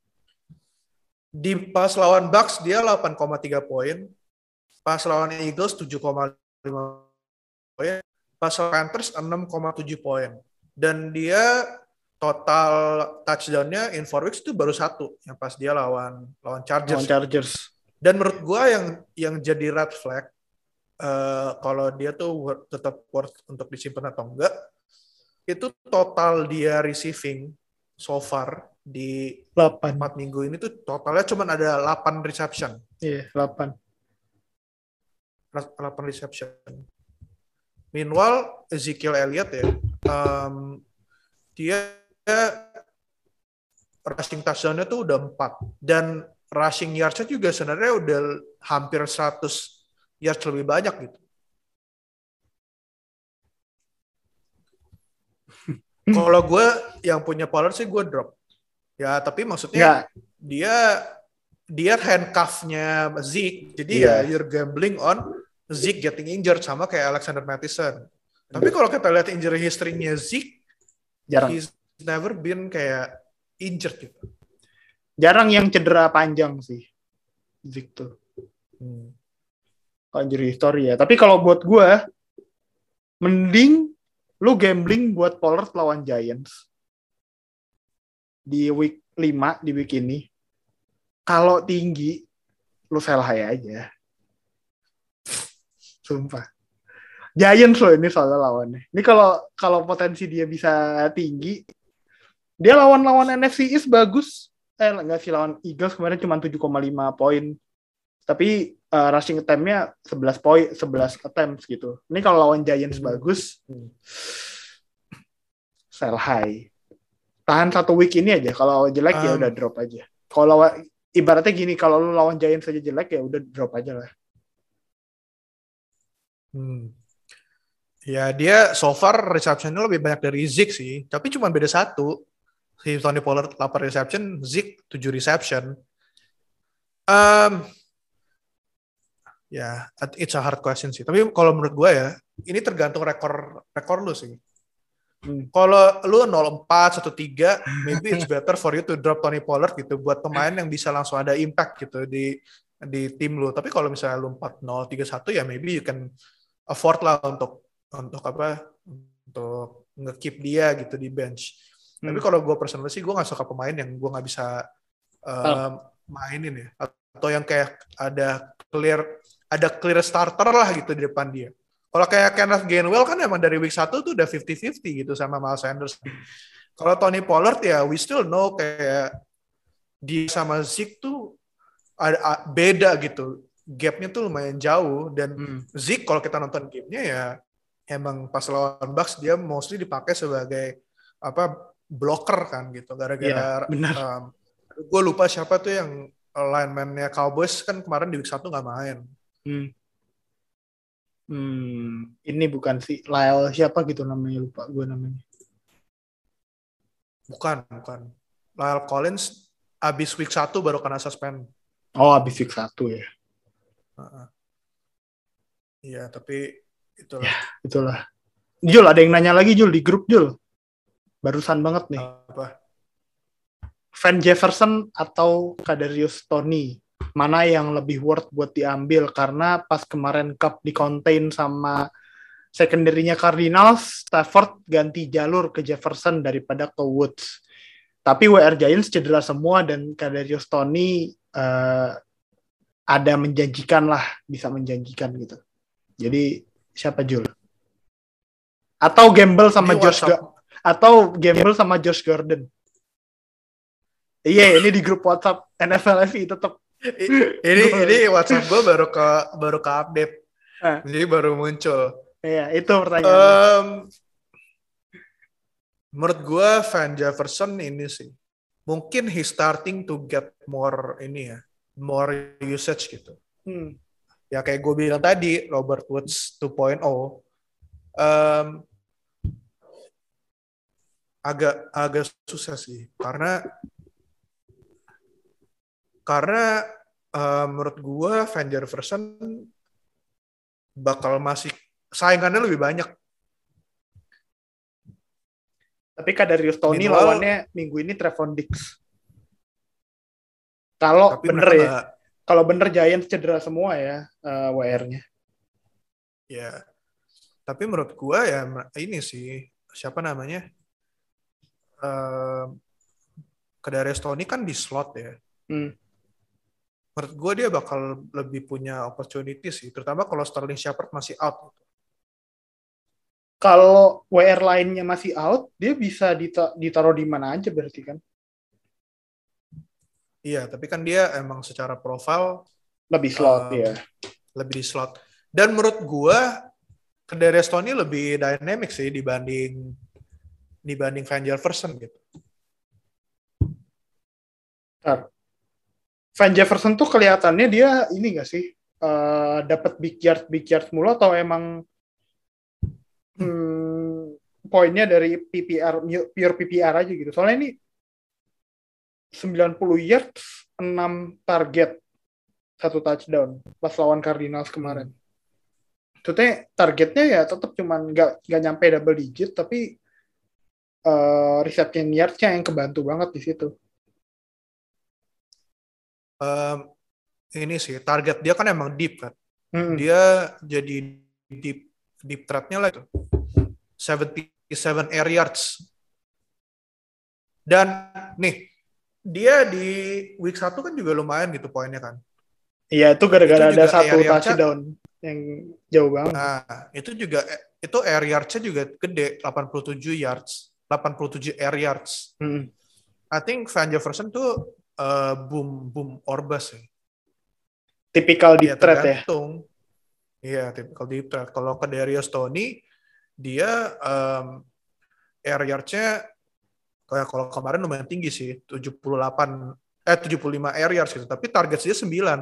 Di pas lawan Bucks dia delapan koma tiga poin. Pas lawan Eagles tujuh koma lima poin. Pas lawan Panthers enam koma tujuh poin. Dan dia total touchdown-nya in four weeks itu baru satu yang pas dia lawan lawan Chargers. Lawan Chargers. Dan menurut gue yang yang jadi red flag uh, kalau dia tuh worth, tetap worth untuk disimpan atau enggak, itu total dia receiving so far di delapan. empat minggu ini tuh totalnya cuma ada delapan reception. Iya, yeah, delapan. delapan reception. Meanwhile Ezekiel Elliott ya, um, dia rushing touchdown-nya tuh udah empat. Dan rushing yards-nya juga sebenarnya udah hampir seratus yards lebih banyak gitu. Kalau gue yang punya Pollard sih gue drop. Ya tapi maksudnya Nggak. dia dia handcuff-nya Zeke. Jadi yeah. ya you're gambling on Zeke getting injured sama kayak Alexander Mattison. Tapi kalau kita lihat injury history-nya Zeke, jarang. He's never been kayak injured gitu. Jarang yang cedera panjang sih Zeke tuh. Hmm. Kalau injury history ya. Tapi kalau buat gue, mending lu gambling buat Pollard lawan Giants di week lima, di week ini. Kalau tinggi, lu sell high aja. Sumpah. Giants loh ini soalnya lawannya. Ini kalau kalau potensi dia bisa tinggi, dia lawan-lawan N F C East bagus. Eh enggak sih, lawan Eagles kemarin cuma tujuh koma lima poin. Tapi uh, rushing attempt-nya sebelas poin, sebelas attempts gitu. Ini kalau lawan Giants hmm. bagus, hmm. sell high. Tahan satu week ini aja. Kalau jelek um. ya udah drop aja. Kalau ibaratnya gini, kalau lu lawan Giants aja jelek ya udah drop aja lah. Hmm. Ya dia so far reception-nya lebih banyak dari Zeke sih, tapi cuma beda satu. Si Tony Pollard delapan reception, Zeke tujuh reception. Um, ya, yeah, it's a hard question sih. Tapi kalau menurut gue ya, ini tergantung rekor rekor lu sih. Hmm. Kalau lu nol empat, satu tiga, maybe it's better for you to drop Tony Pollard gitu buat pemain yang bisa langsung ada impact gitu di di tim lu. Tapi kalau misalnya lu empat nol, tiga satu ya maybe you can afford lah untuk untuk apa untuk nge-keep dia gitu di bench. Hmm. Tapi kalau gue personally sih gue nggak suka pemain yang gue nggak bisa um, mainin ya, atau yang kayak ada clear ada clear starter lah gitu di depan dia. Kalau kayak Kenneth Gainwell kan emang dari week satu tuh udah fifty fifty gitu sama Miles Sanders. Kalau Tony Pollard ya we still know kayak dia sama Zeke tuh ada beda gitu. Gap-nya tuh lumayan jauh dan hmm. Zeke kalau kita nonton game-nya ya emang pas lawan Bucks dia mostly dipakai sebagai apa blocker kan gitu gara-gara ya, um, gue lupa siapa tuh yang lineman-nya Cowboys kan kemarin di week satu nggak main. Hmm. Hmm, ini bukan si Lyle siapa gitu namanya, lupa gue namanya. Bukan, bukan. Lyle Collins abis week satu baru kena suspend. Oh, abis week satu ya. Uh-uh. Iya, tapi itulah. Ya, itulah. Jul, ada yang nanya lagi Jul di grup Jul. Barusan banget nih. Apa? Van Jefferson atau Kadarius Toney, mana yang lebih worth buat diambil? Karena pas kemarin Cup di contain sama secondary-nya Cardinals, Stafford ganti jalur ke Jefferson daripada ke Woods. Tapi W R Giants cedera semua dan Kadarius Toney uh, ada menjanjikan lah, bisa menjanjikan gitu. Jadi siapa Jul? Atau gamble sama ini Josh Ga- atau gamble sama Josh Gordon? Iya, ini di grup WhatsApp N F L F I tetap. ini ini WhatsApp gue baru ke baru ke update, eh. jadi baru muncul. Iya, itu pertanyaannya. Um, menurut gue Van Jefferson ini sih, mungkin he starting to get more ini ya, more usage gitu. Hmm. Ya kayak gue bilang tadi, Robert Woods two point oh. Um, agak agak susah sih karena Karena uh, menurut gue Van Jefferson bakal masih saingannya lebih banyak. Tapi Kadarius Toney Meanwhile, lawannya minggu ini Trevon Diggs. Kalau bener ya, gak... kalau bener Giants cedera semua ya uh, W R-nya. Ya, tapi menurut gue ya ini sih siapa namanya? Uh, Kadarius Toney kan di slot ya. Hmm. Menurut gue dia bakal lebih punya opportunity sih, terutama kalau Sterling Shepard masih out. Kalau W R lainnya masih out, dia bisa dita- ditaruh di mana aja berarti kan? Iya, tapi kan dia emang secara profil lebih slot um, ya. Lebih di slot. Dan menurut gue Kadarius Toney lebih dynamic sih dibanding dibanding Van Jefferson gitu. Ntar. Van Jefferson tuh kelihatannya dia ini nggak sih uh, dapat big yard big yard mulu atau emang hmm, poinnya dari P P R pure P P R aja gitu. Soalnya ini sembilan puluh yards, enam target, satu touchdown pas lawan Cardinals kemarin. Hmm. Maksudnya targetnya ya tetap cuman nggak nggak nyampe double digit tapi uh, reception yards-nya yang kebantu banget di situ. Um, ini sih target dia kan emang deep kan. Hmm. Dia jadi deep deep threat-nya lah itu. seventy-seven air yards. Dan nih, dia di week satu kan juga lumayan gitu poinnya kan. Iya, itu gara-gara itu ada satu touchdown yang jauh banget. Nah, itu juga itu air yards-nya juga gede, delapan puluh tujuh yards, delapan puluh tujuh air yards. Hmm. I think Van Jefferson tuh uh, boom boom or bust ya. Tipikal deep threat ya. Iya, tipikal deep threat. Kalau ke Kadarius Toney dia um, air yards-nya kayak kalau kemarin lumayan tinggi sih, tujuh puluh delapan eh tujuh puluh lima air yards gitu, tapi target dia sembilan.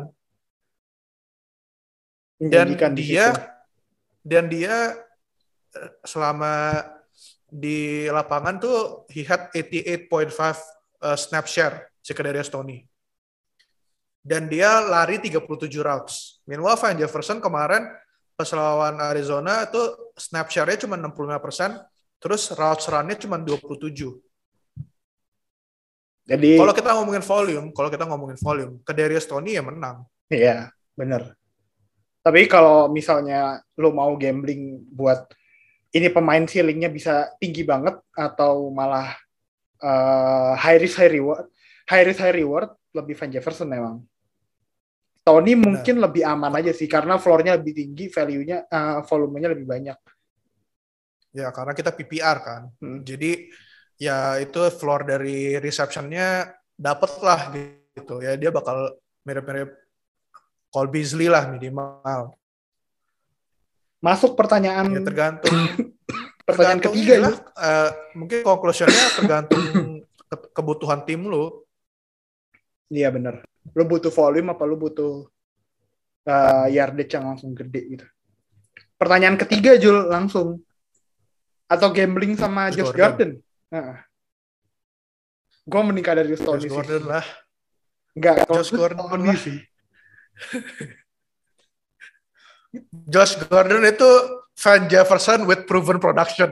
Dan dia dan dia selama di lapangan tuh he had eighty-eight point five uh, snap share si Kadarius Toney. Dan dia lari tiga puluh tujuh routes. Meanwhile Van Jefferson kemarin pas lawan Arizona tuh snap share-nya cuma enam puluh lima persen, terus routes run-nya cuma dua puluh tujuh. Jadi kalau kita ngomongin volume, kalau kita ngomongin volume, Kadarius Toney ya menang. Iya, benar. Tapi kalau misalnya lo mau gambling buat ini pemain ceilingnya bisa tinggi banget atau malah uh, high risk high reward, high risk high reward lebih Van Jefferson memang. Toney mungkin lebih aman aja sih karena floor-nya lebih tinggi, value-nya, uh, volumenya lebih banyak. Ya karena kita P P R kan, hmm. jadi ya itu floor dari reception-nya dapet lah gitu ya, dia bakal mirip-mirip Cole Beasley lah minimal. Masuk pertanyaan. Ya tergantung. pertanyaan tergantung ketiga ya. Uh, mungkin conclusion-nya tergantung ke- kebutuhan tim lu. Iya benar. Lu butuh volume apa lu butuh uh, yardage yang langsung gede gitu. Pertanyaan ketiga Jul langsung. Atau gambling sama Josh, Josh Gordon. Gordon. Nah. Gue menikah dari Toney sih. Josh Gordon lah. Enggak, Josh Gordon lah sih. Josh Gordon itu Van Jefferson with proven production.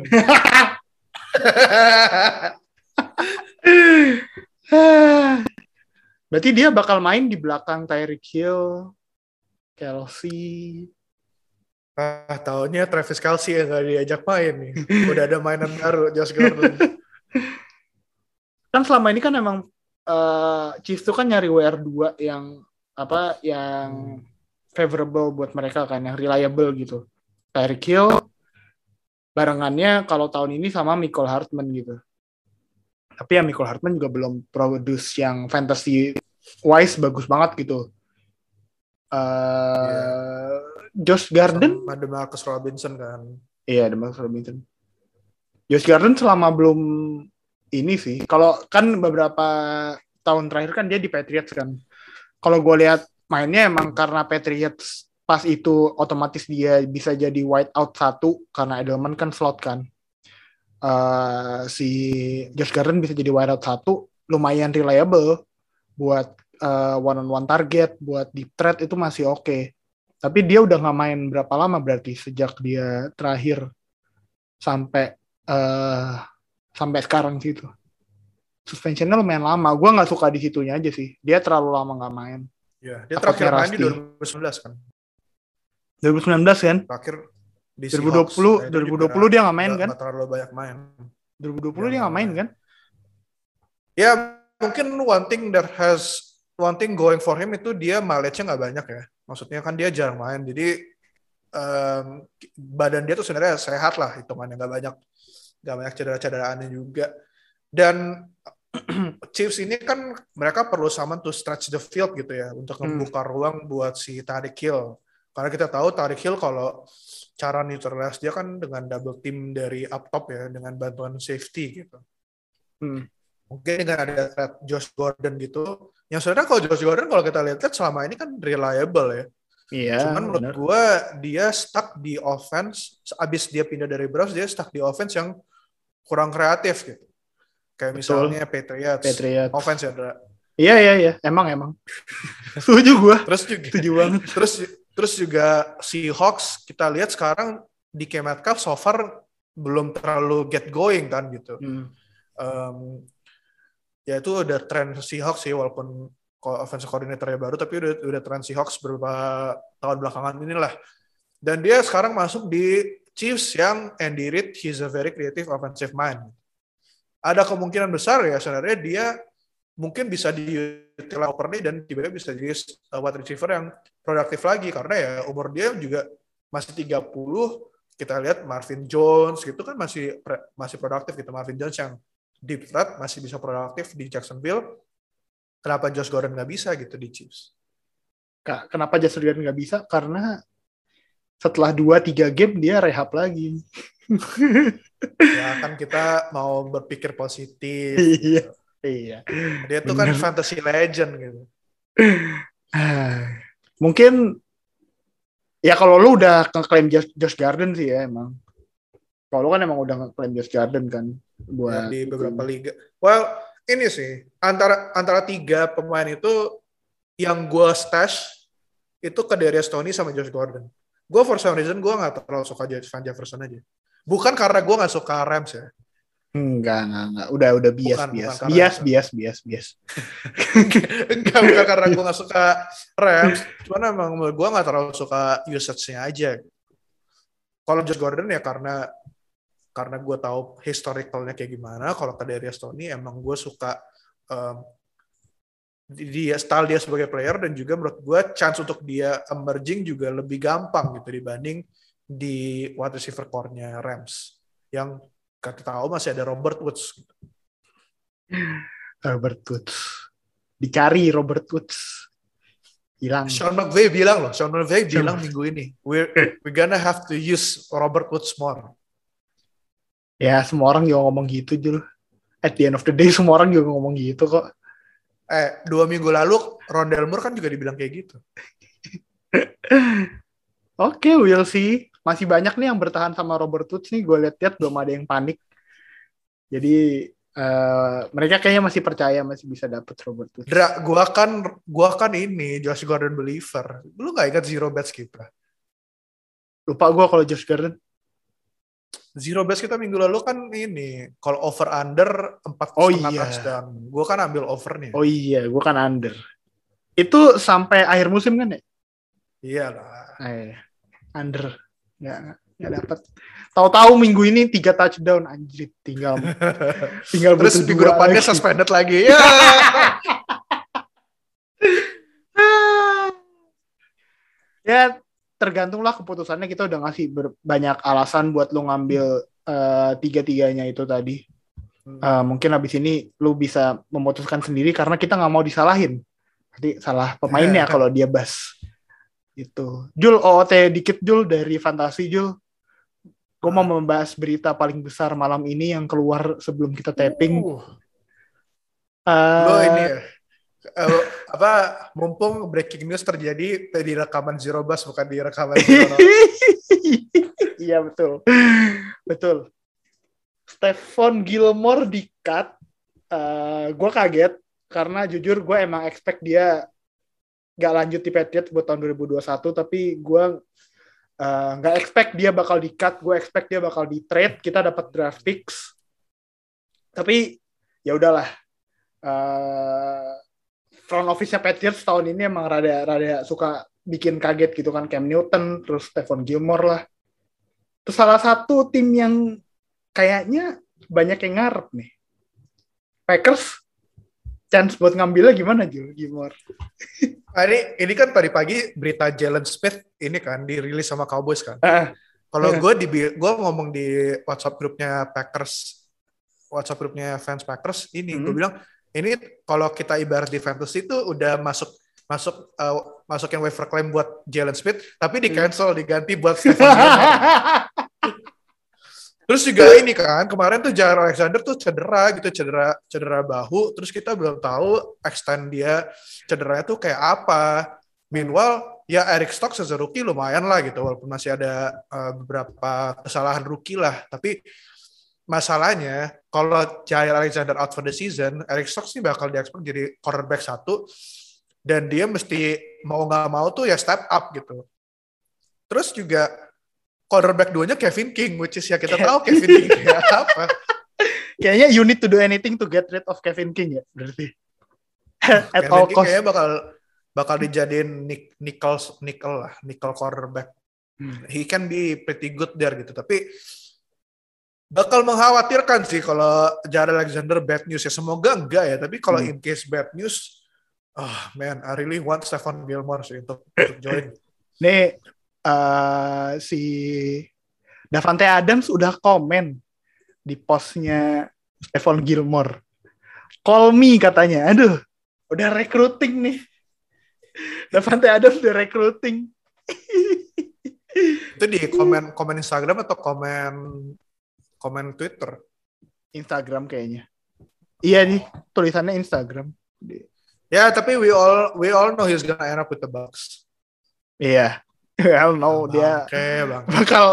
Berarti dia bakal main di belakang Tyreek Hill, Kelsey. Ah, tahunnya Travis Kelsey yang gak diajak main nih. Udah ada mainan baru, Josh Gordon. Kan selama ini kan emang uh, Chiefs tuh kan nyari W R dua yang apa yang favorable buat mereka kan, yang reliable gitu. Tyreek Hill barengannya kalau tahun ini sama Mecole Hardman gitu. Tapi ya Mecole Hardman juga belum produce yang fantasy wise bagus banget gitu. Uh, yeah. Josh Gordon ada Marcus Robinson kan. Iya, ada Marcus Robinson. Josh Gordon selama belum ini sih. Kalau kan beberapa tahun terakhir kan dia di Patriots kan. Kalau gue lihat mainnya emang karena Patriots pas itu otomatis dia bisa jadi wide out satu karena Edelman kan slot kan. Uh, si Josh Gordon bisa jadi wide out satu lumayan reliable buat uh, one on one target, buat deep threat itu masih oke. Okay. Tapi dia udah nggak main berapa lama berarti sejak dia terakhir sampai uh, sampai sekarang gitu. Suspensionnya lumayan lama. Gue nggak suka di situnya aja sih. Dia terlalu lama nggak main. Ya, dia terakhir main di dua ribu sembilan belas kan. dua ribu sembilan belas kan? Terakhir di dua ribu dua puluh, dua ribu dua puluh dia nggak main kan? Nggak terlalu banyak main. dua ribu dua puluh dia nggak main kan? Ya mungkin one thing that has one thing going for him itu dia mileage-nya nggak banyak ya. Maksudnya kan dia jarang main. Jadi um, badan dia tuh sebenarnya sehat lah hitungannya, nggak banyak nggak banyak cedera-cederaannya juga. Dan Chiefs ini kan mereka perlu someone to stretch the field gitu ya untuk membuka hmm. ruang buat si Tyreek Hill. Karena kita tahu Tyreek Hill kalau cara neutralize dia kan dengan double team dari up top ya, dengan bantuan safety gitu. Hmm. Mungkin dengan ada threat Josh Gordon gitu. Yang sebenarnya kalau Josh Gordon kalau kita lihat selama ini kan reliable ya. Iya. Cuman menurut gue dia stuck di offense. Abis dia pindah dari Browns dia stuck di offense yang kurang kreatif gitu. Kayak Betul. misalnya Patriots, Patriots. offense ya, Dra. Iya iya iya, emang emang. Setuju gue. Terus juga, setuju banget. Terus terus juga si Hawks kita lihat sekarang di K Metcalf so far belum terlalu get going kan gitu. Hmm. Um, ya itu udah tren Seahawks sih walaupun offensive coordinator-nya baru tapi udah udah tren Seahawks beberapa tahun belakangan inilah. Dan dia sekarang masuk di Chiefs yang Andy Reid, he's a very creative offensive mind. Ada kemungkinan besar ya sebenarnya dia mungkin bisa diutilize properly dan tiba-tiba bisa jadi wide receiver yang produktif lagi karena ya umur dia juga masih tiga puluh. Kita lihat Marvin Jones gitu kan masih masih produktif gitu. Marvin Jones yang deep threat masih bisa produktif di Jacksonville. Kenapa Josh Gordon nggak bisa gitu di Chiefs? Kenapa Josh Gordon nggak bisa? Karena setelah dua tiga game dia rehab lagi. Ya kan kita mau berpikir positif. Iya. Iya. Dia tuh kan fantasy legend gitu. Mungkin ya kalau lu udah ngeklaim Josh, Josh Gordon sih ya emang. Kalau lu kan emang udah ngeklaim Josh Gordon kan buat ya, di beberapa itu. Liga. Well, ini sih antara antara tiga pemain itu yang gue stash itu ke Kadarius Toney sama Josh Gordon. Gue for some reason gue nggak terlalu suka Van Jefferson aja. Bukan karena gue nggak suka Rams ya. Enggak, enggak, enggak. Udah, udah bias, bukan, bias. Bukan bias, bias, bias, bias, Enggak, bukan karena gue gak suka Rams. Cuman emang gue gak terlalu suka usage-nya aja. Kalau Josh Gordon ya karena karena gue tahu historicalnya kayak gimana. Kalau Kadarius Toney emang gue suka um, dia, style dia sebagai player dan juga menurut gue chance untuk dia emerging juga lebih gampang gitu dibanding di wide receiver core-nya Rams. Yang kita tahu masih ada Robert Woods. Robert Woods. Dicari Robert Woods. Hilang. Sean McVay bilang loh. Sean McVay bilang minggu ini. We're, we're gonna have to use Robert Woods more. Ya semua orang juga ngomong gitu Jul. At the end of the day semua orang juga ngomong gitu kok. Eh dua minggu lalu Rondale Moore kan juga dibilang kayak gitu. Oke, okay, we'll see. Masih banyak nih yang bertahan sama Robert Woods nih. Gue lihat-lihat belum ada yang panik. Jadi uh, mereka kayaknya masih percaya masih bisa dapet Robert Woods. Dra, gua kan gua kan ini Josh Gordon believer. Lu nggak ingat zero bets kita? Lupa gue kalau Josh Gordon. Zero bets kita minggu lalu kan ini kalau over under empat oh, setengah iya. touchdown. Gue kan ambil overnya. Oh iya, gue kan under. Itu sampai akhir musim kan ya? Iyalah. Eh, under. Nggak, nggak dapat. Tahu-tahu minggu ini tiga touchdown anjir, tinggal tinggal terus minggu depannya lagi. Suspended lagi. Ya. Ya tergantunglah keputusannya. Kita udah ngasih ber- banyak alasan buat lu ngambil uh, tiga-tiganya itu tadi. Uh, mungkin abis ini lu bisa memutuskan sendiri karena kita nggak mau disalahin. Nanti salah pemainnya kalau dia bas. Itu. Jul, O O T dikit Jul dari Fantasi Jul. Gue mau membahas berita paling besar malam ini yang keluar sebelum kita taping. Uh. Uh, Lo ini ya, uh, apa mumpung breaking news terjadi di rekaman Zero Bus bukan di rekaman Zero. Iya betul, betul. Stephon Gilmore di-cut. Uh, gue kaget karena jujur gue emang expect dia nggak lanjut di Patriots buat tahun dua ribu dua puluh satu, tapi gue uh, nggak expect dia bakal di-cut, gue expect dia bakal di-trade, kita dapat draft picks. Tapi ya udahlah, uh, front office-nya Patriots tahun ini emang rada rada suka bikin kaget gitu kan, Cam Newton, terus Stephon Gilmore lah. Terus salah satu tim yang kayaknya banyak yang ngarep nih, Packers, chance buat ngambilnya gimana Jul? Gilmore? Nah, ini, ini kan tadi pagi berita Jalen Smith ini kan dirilis sama Cowboys kan. Uh, Kalau uh. gue di gue ngomong di WhatsApp grupnya Packers, WhatsApp grupnya fans Packers ini, hmm. gue bilang ini kalau kita ibarat di fantasy itu udah masuk masuk uh, masukin waiver claim buat Jalen Smith, tapi di cancel hmm. diganti buat Stephon Gilmore. Terus juga ini kan kemarin tuh Jair Alexander tuh cedera gitu, cedera cedera bahu, terus kita belum tahu extend dia cederanya tuh kayak apa. Meanwhile ya Eric Stokes as a rookie lumayan lah gitu, walaupun masih ada uh, beberapa kesalahan rookie lah, tapi masalahnya kalau Jair Alexander out for the season, Eric Stokes ini bakal diekspor jadi cornerback satu, dan dia mesti mau nggak mau tuh ya step up gitu. Terus juga cornerback duanya Kevin King, which is ya kita tahu Kevin King ya apa. Kayaknya you need to do anything to get rid of Kevin King ya, berarti. At Kevin all King cost. kayaknya bakal bakal dijadiin nick, nickel nickel lah, nickel cornerback. Hmm. He can be pretty good there gitu, tapi bakal mengkhawatirkan sih kalau Jair Alexander bad news ya. Semoga enggak ya, tapi kalau hmm. in case bad news, oh man, I really want Stephon Gilmore sih untuk, untuk join. Nih uh, si Davante Adams udah komen di postnya Stephon Gilmore. Call me katanya. Aduh, udah recruiting nih. Davante Adams udah recruiting. Itu di komen komen Instagram atau komen komen Twitter? Instagram kayaknya. Iya nih, tulisannya Instagram. Ya, tapi we all we all know he's gonna end up with the Bucks. Iya. Well, no, bang, dia okay, bang. bakal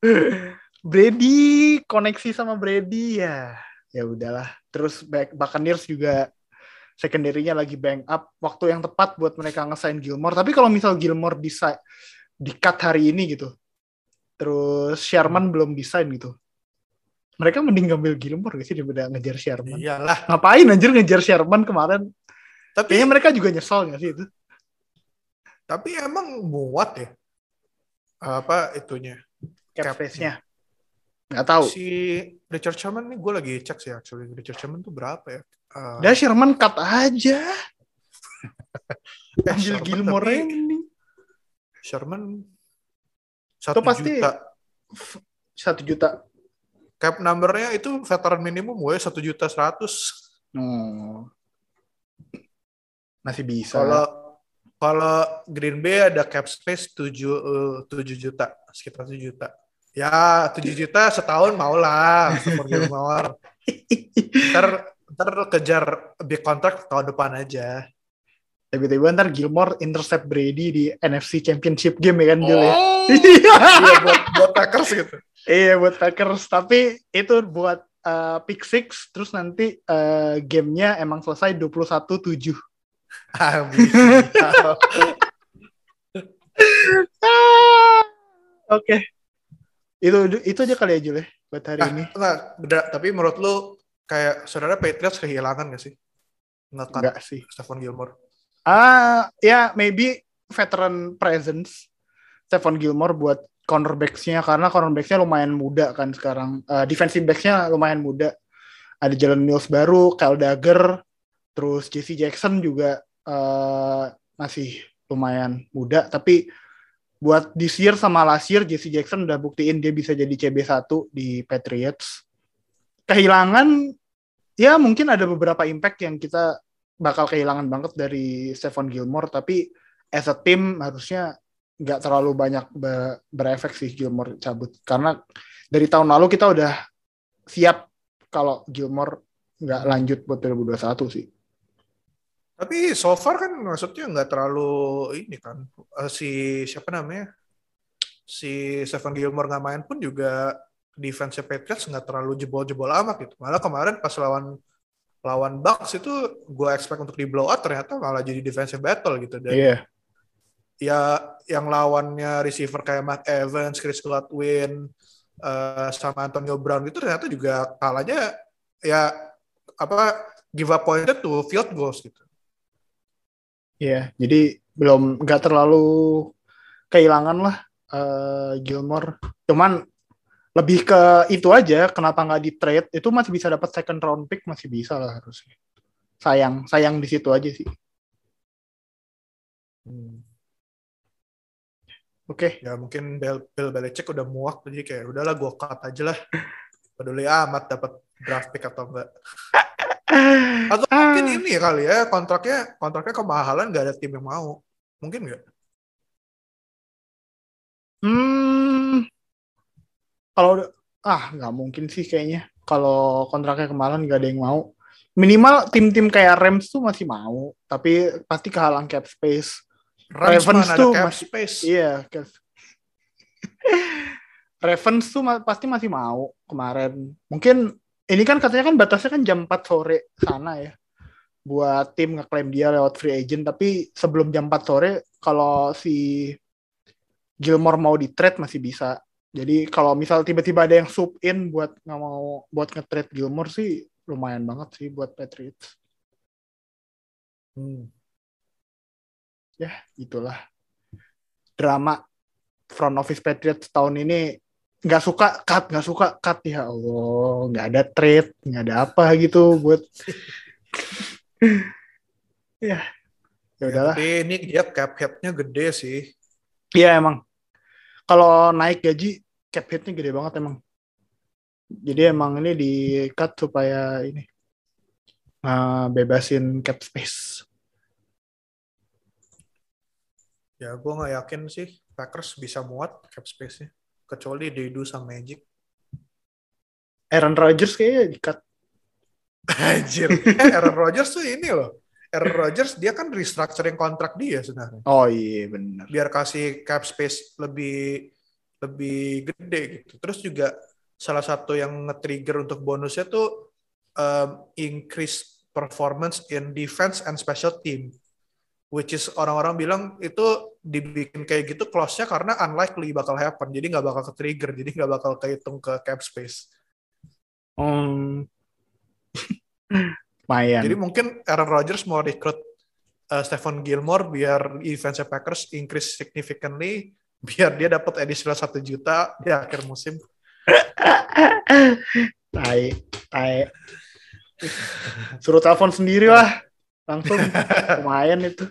Brady koneksi sama Brady ya. Ya udahlah. Terus back, Buccaneers juga secondary-nya lagi bang up, waktu yang tepat buat mereka nge-sign Gilmore. Tapi kalau misal Gilmore bisa di-cut hari ini gitu, terus Sherman hmm. belum desain gitu, mereka mending ngambil Gilmore gak sih daripada ngejar Sherman? Iyalah. Ngapain anjir ngejar Sherman kemarin? Tapi kayaknya mereka juga nyesel gak sih itu? Tapi emang muat ya? Apa itunya? Cap space-nya. Gak tahu. Si Richard Sherman nih gue lagi cek sih actually. Richard Sherman tuh berapa ya? Uh... Dah Sherman cut aja. eh, ambil Gilmore ini. Sherman satu pasti juta. Satu juta. Cap number-nya itu veteran minimum gue satu juta seratus. Hmm. Masih bisa. Kalau kalau Green Bay ada cap space tujuh uh, tujuh juta, sekitar tujuh juta. Ya tujuh juta setahun mau lah. ntar ntar kejar big contract tahun depan aja. Tiba-tiba ntar Gilmore intercept Brady di N F C Championship game ya kan, Jul ya? Iya, buat, buat Packers gitu. Iya, buat Packers. Tapi itu buat uh, pick six, terus nanti uh, gamenya emang selesai dua puluh satu tujuh. Oke. Itu itu aja kali ya, Jul ya, buat hari nah, ini. Enggak, beda. Tapi menurut lu kayak saudara Patriots kehilangan gak sih? Nge-cut enggak sih. Stephon Gilmore. Ah, ya maybe veteran presence Stephon Gilmore buat cornerbacks-nya, karena cornerbacks-nya lumayan muda kan sekarang. Uh, defensive backs-nya lumayan muda. Ada Jalen Mills baru, Kyle Dagger, terus J C Jackson juga uh, masih lumayan muda. Tapi buat this year sama last year, J C Jackson udah buktiin dia bisa jadi C B satu di Patriots. Kehilangan, ya mungkin ada beberapa impact yang kita bakal kehilangan banget dari Stephon Gilmore, tapi as a team harusnya nggak terlalu banyak be- berefek sih Gilmore cabut, karena dari tahun lalu kita udah siap kalau Gilmore nggak lanjut buat dua ribu dua puluh satu sih. Tapi so far kan maksudnya nggak terlalu ini kan, uh, si siapa namanya si Stephon Gilmore nggak main pun juga defense Patriots nggak terlalu jebol-jebol amat gitu. Malah kemarin pas lawan lawan Bucks itu gue expect untuk di blow out, ternyata malah jadi defensive battle gitu. Dan Iya. ya yang lawannya receiver kayak Mark Evans, Chris Godwin, uh, sama Antonio Brown itu ternyata juga kalahnya ya apa give up pointed to field goals gitu. Iya, jadi belum nggak terlalu kehilangan lah uh, Gilmore. Cuman lebih ke itu aja, kenapa nggak di trade? Itu masih bisa dapat second round pick, masih bisa lah harusnya. Sayang, sayang di situ aja sih. Hmm. Oke. Okay. Ya mungkin Bill, Bill Belichick udah muak, jadi kayak udahlah gue cut aja lah. Peduli amat dapat draft pick atau enggak. Atau mungkin ini kali ya, kontraknya kontraknya kemahalan, nggak ada tim yang mau. Mungkin nggak? Hmm, kalau ah nggak mungkin sih kayaknya. Kalau kontraknya kemahalan nggak ada yang mau. Minimal tim-tim kayak Rams tuh masih mau, tapi pasti kehalang cap space. Rams Ravens mana tuh ada cap masih, space. Iya, cap. Ravens tuh pasti masih mau kemarin. Mungkin ini kan katanya kan batasnya kan jam empat sore sana ya. Buat tim ngeklaim dia lewat free agent, tapi sebelum jam empat sore kalau si Gilmore mau di trade masih bisa. Jadi kalau misal tiba-tiba ada yang sub in buat nggak mau buat nge-trade Gilmore sih lumayan banget sih buat Patriots. Hmm. Ya, itulah drama front office Patriots tahun ini. Nggak suka cut, nggak suka cut, ya Allah, nggak ada trade, nggak ada apa gitu buat ya, ya udahlah. Ya, tapi ini dia cap hit-nya gede sih. Iya emang, kalau naik gaji cap hit-nya gede banget emang. Jadi emang ini di cut supaya ini uh, bebasin cap space. Ya gue nggak yakin sih Packers bisa muat cap space-nya. Kecuali they do some magic. Aaron Rodgers kayaknya di-cut. Anjir. Eh, Aaron Rodgers tuh ini loh. Aaron Rodgers dia kan restructuring kontrak dia sebenarnya. Oh iya benar. Biar kasih cap space lebih lebih gede gitu. Terus juga salah satu yang nge-trigger untuk bonusnya tuh um, increase performance in defense and special team. Which is orang-orang bilang itu dibikin kayak gitu clause-nya karena unlikely bakal happen. Jadi nggak bakal ke-trigger. Jadi nggak bakal kehitung ke cap space. Um, Mayan. Jadi mungkin Aaron Rodgers mau rekrut uh, Stephon Gilmore biar defense Packers increase significantly. Biar dia dapat additional satu juta di akhir musim. Tai, tai. Suruh telepon sendiri lah. Langsung lumayan itu.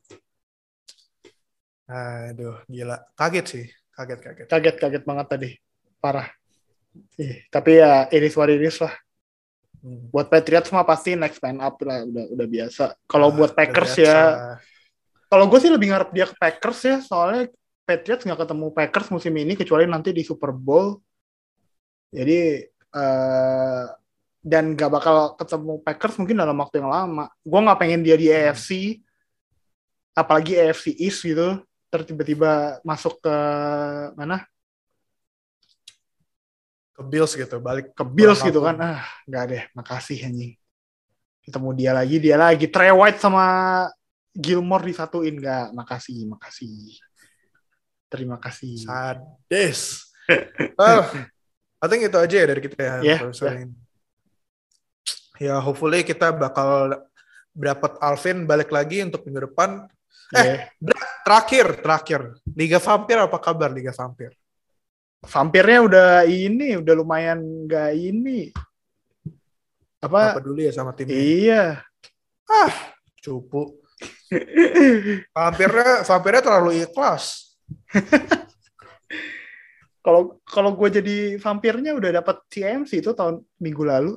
Aduh, gila. Kaget sih. Kaget, kaget. Kaget, kaget banget tadi. Parah. Eh, tapi ya iris what iris lah. Hmm. Buat Patriots mah pasti next man up lah. Udah, udah biasa. Kalau ah, buat Packers ya. Kalau gue sih lebih ngarep dia ke Packers ya. Soalnya Patriots nggak ketemu Packers musim ini. Kecuali nanti di Super Bowl. Jadi. Uh, dan nggak bakal ketemu Packers mungkin dalam waktu yang lama. Gue nggak pengen dia di A F C. Apalagi A F C East gitu. Terus tiba-tiba masuk ke mana? Ke Bills gitu, balik ke Bills gitu kan. Ah, enggak deh, makasih anjing. Ketemu dia lagi, dia lagi. Trey White sama Gilmore disatuin, enggak. Makasih, makasih. Terima kasih. Sadis. Well, I think itu aja ya dari kita ya. Yeah, yeah. Ya, hopefully kita bakal dapat Alvin balik lagi untuk minggu depan. Eh, yeah. terakhir, terakhir. Liga Vampir apa kabar Liga Vampir? Vampirnya udah ini, udah lumayan nggak ini. Apa? Apa dulu ya sama timnya? Iya. Ah, cupu. Vampirnya, vampirnya terlalu ikhlas. Kalau kalau gue jadi vampirnya udah dapat C M C itu tahun minggu lalu.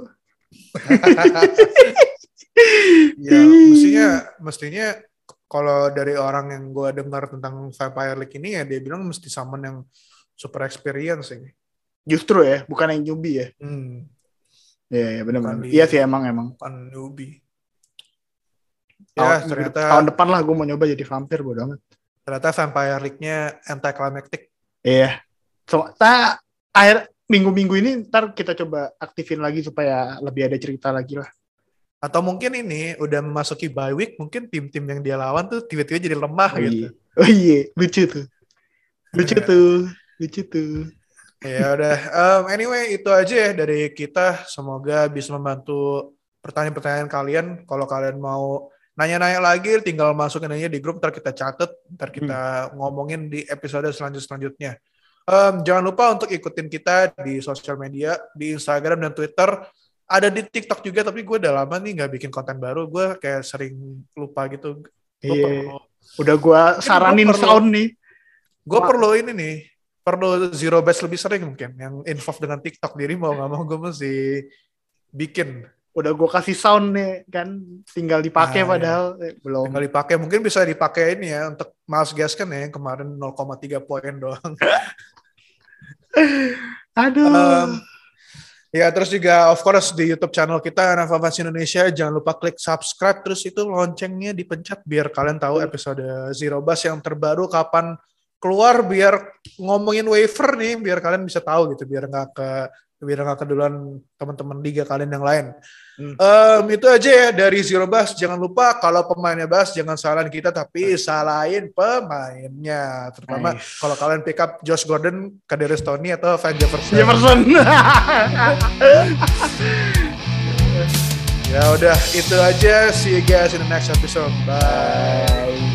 Ya, mestinya, mestinya kalau dari orang yang gue dengar tentang Vampire League ini ya dia bilang mesti summon yang super experience ini. Justru ya, bukan yang newbie ya. Hmm. Ya, ya benar-benar. Iya sih emang emang. Bukan newbie. Ya, tahun, ternyata tahun depan lah gue mau nyoba jadi vampir, bodo amat. Ternyata Vampire League-nya anticlimactic. Iya. So, ta, akhir minggu-minggu ini ntar kita coba aktifin lagi supaya lebih ada cerita lagi lah. Atau mungkin ini udah memasuki bye week, mungkin tim-tim yang dia lawan tuh tiba-tiba jadi lemah Oh, gitu. iya. Oh iya, lucu tuh. Lucu tuh, lucu tuh. Ya udah, um, anyway itu aja ya dari kita. Semoga bisa membantu pertanyaan-pertanyaan kalian. Kalau kalian mau nanya-nanya lagi, tinggal masukin aja di grup, ntar kita catet, ntar kita hmm. ngomongin di episode selanjut-selanjutnya. Um, jangan lupa untuk ikutin kita di sosial media, di Instagram dan Twitter. Ada di TikTok juga, tapi gue udah lama nih gak bikin konten baru. Gue kayak sering lupa gitu. Gue iya. perlu. Udah gue saranin perlu, sound nih. Gue perlu ini nih. Perlu zero base lebih sering mungkin. Yang involved dengan TikTok diri mau gak mau gue mesti bikin. Udah gue kasih sound nih kan. Tinggal dipakai nah, padahal. Ya. Eh, belum. Tinggal dipakai. Mungkin bisa dipakai ini ya. Untuk Miles Gaskin ya. Yang kemarin nol koma tiga poin doang. Aduh. Um, Ya, terus juga of course di YouTube channel kita N F L Fans Indonesia, jangan lupa klik subscribe, terus itu loncengnya dipencet biar kalian tahu episode Zero Bus yang terbaru kapan keluar, biar ngomongin waiver nih, biar kalian bisa tahu gitu, biar nggak ke biar nggak keduluan teman-teman liga kalian yang lain. Hmm. Um, itu aja ya dari Zero Bus. Jangan lupa kalau pemainnya Bus jangan salahin kita tapi salahin pemainnya. Terutama nice. Kalau kalian pick up Josh Gordon, Kadarius Toney atau Van Jefferson. Jefferson. Ya udah itu aja. See you guys in the next episode. Bye.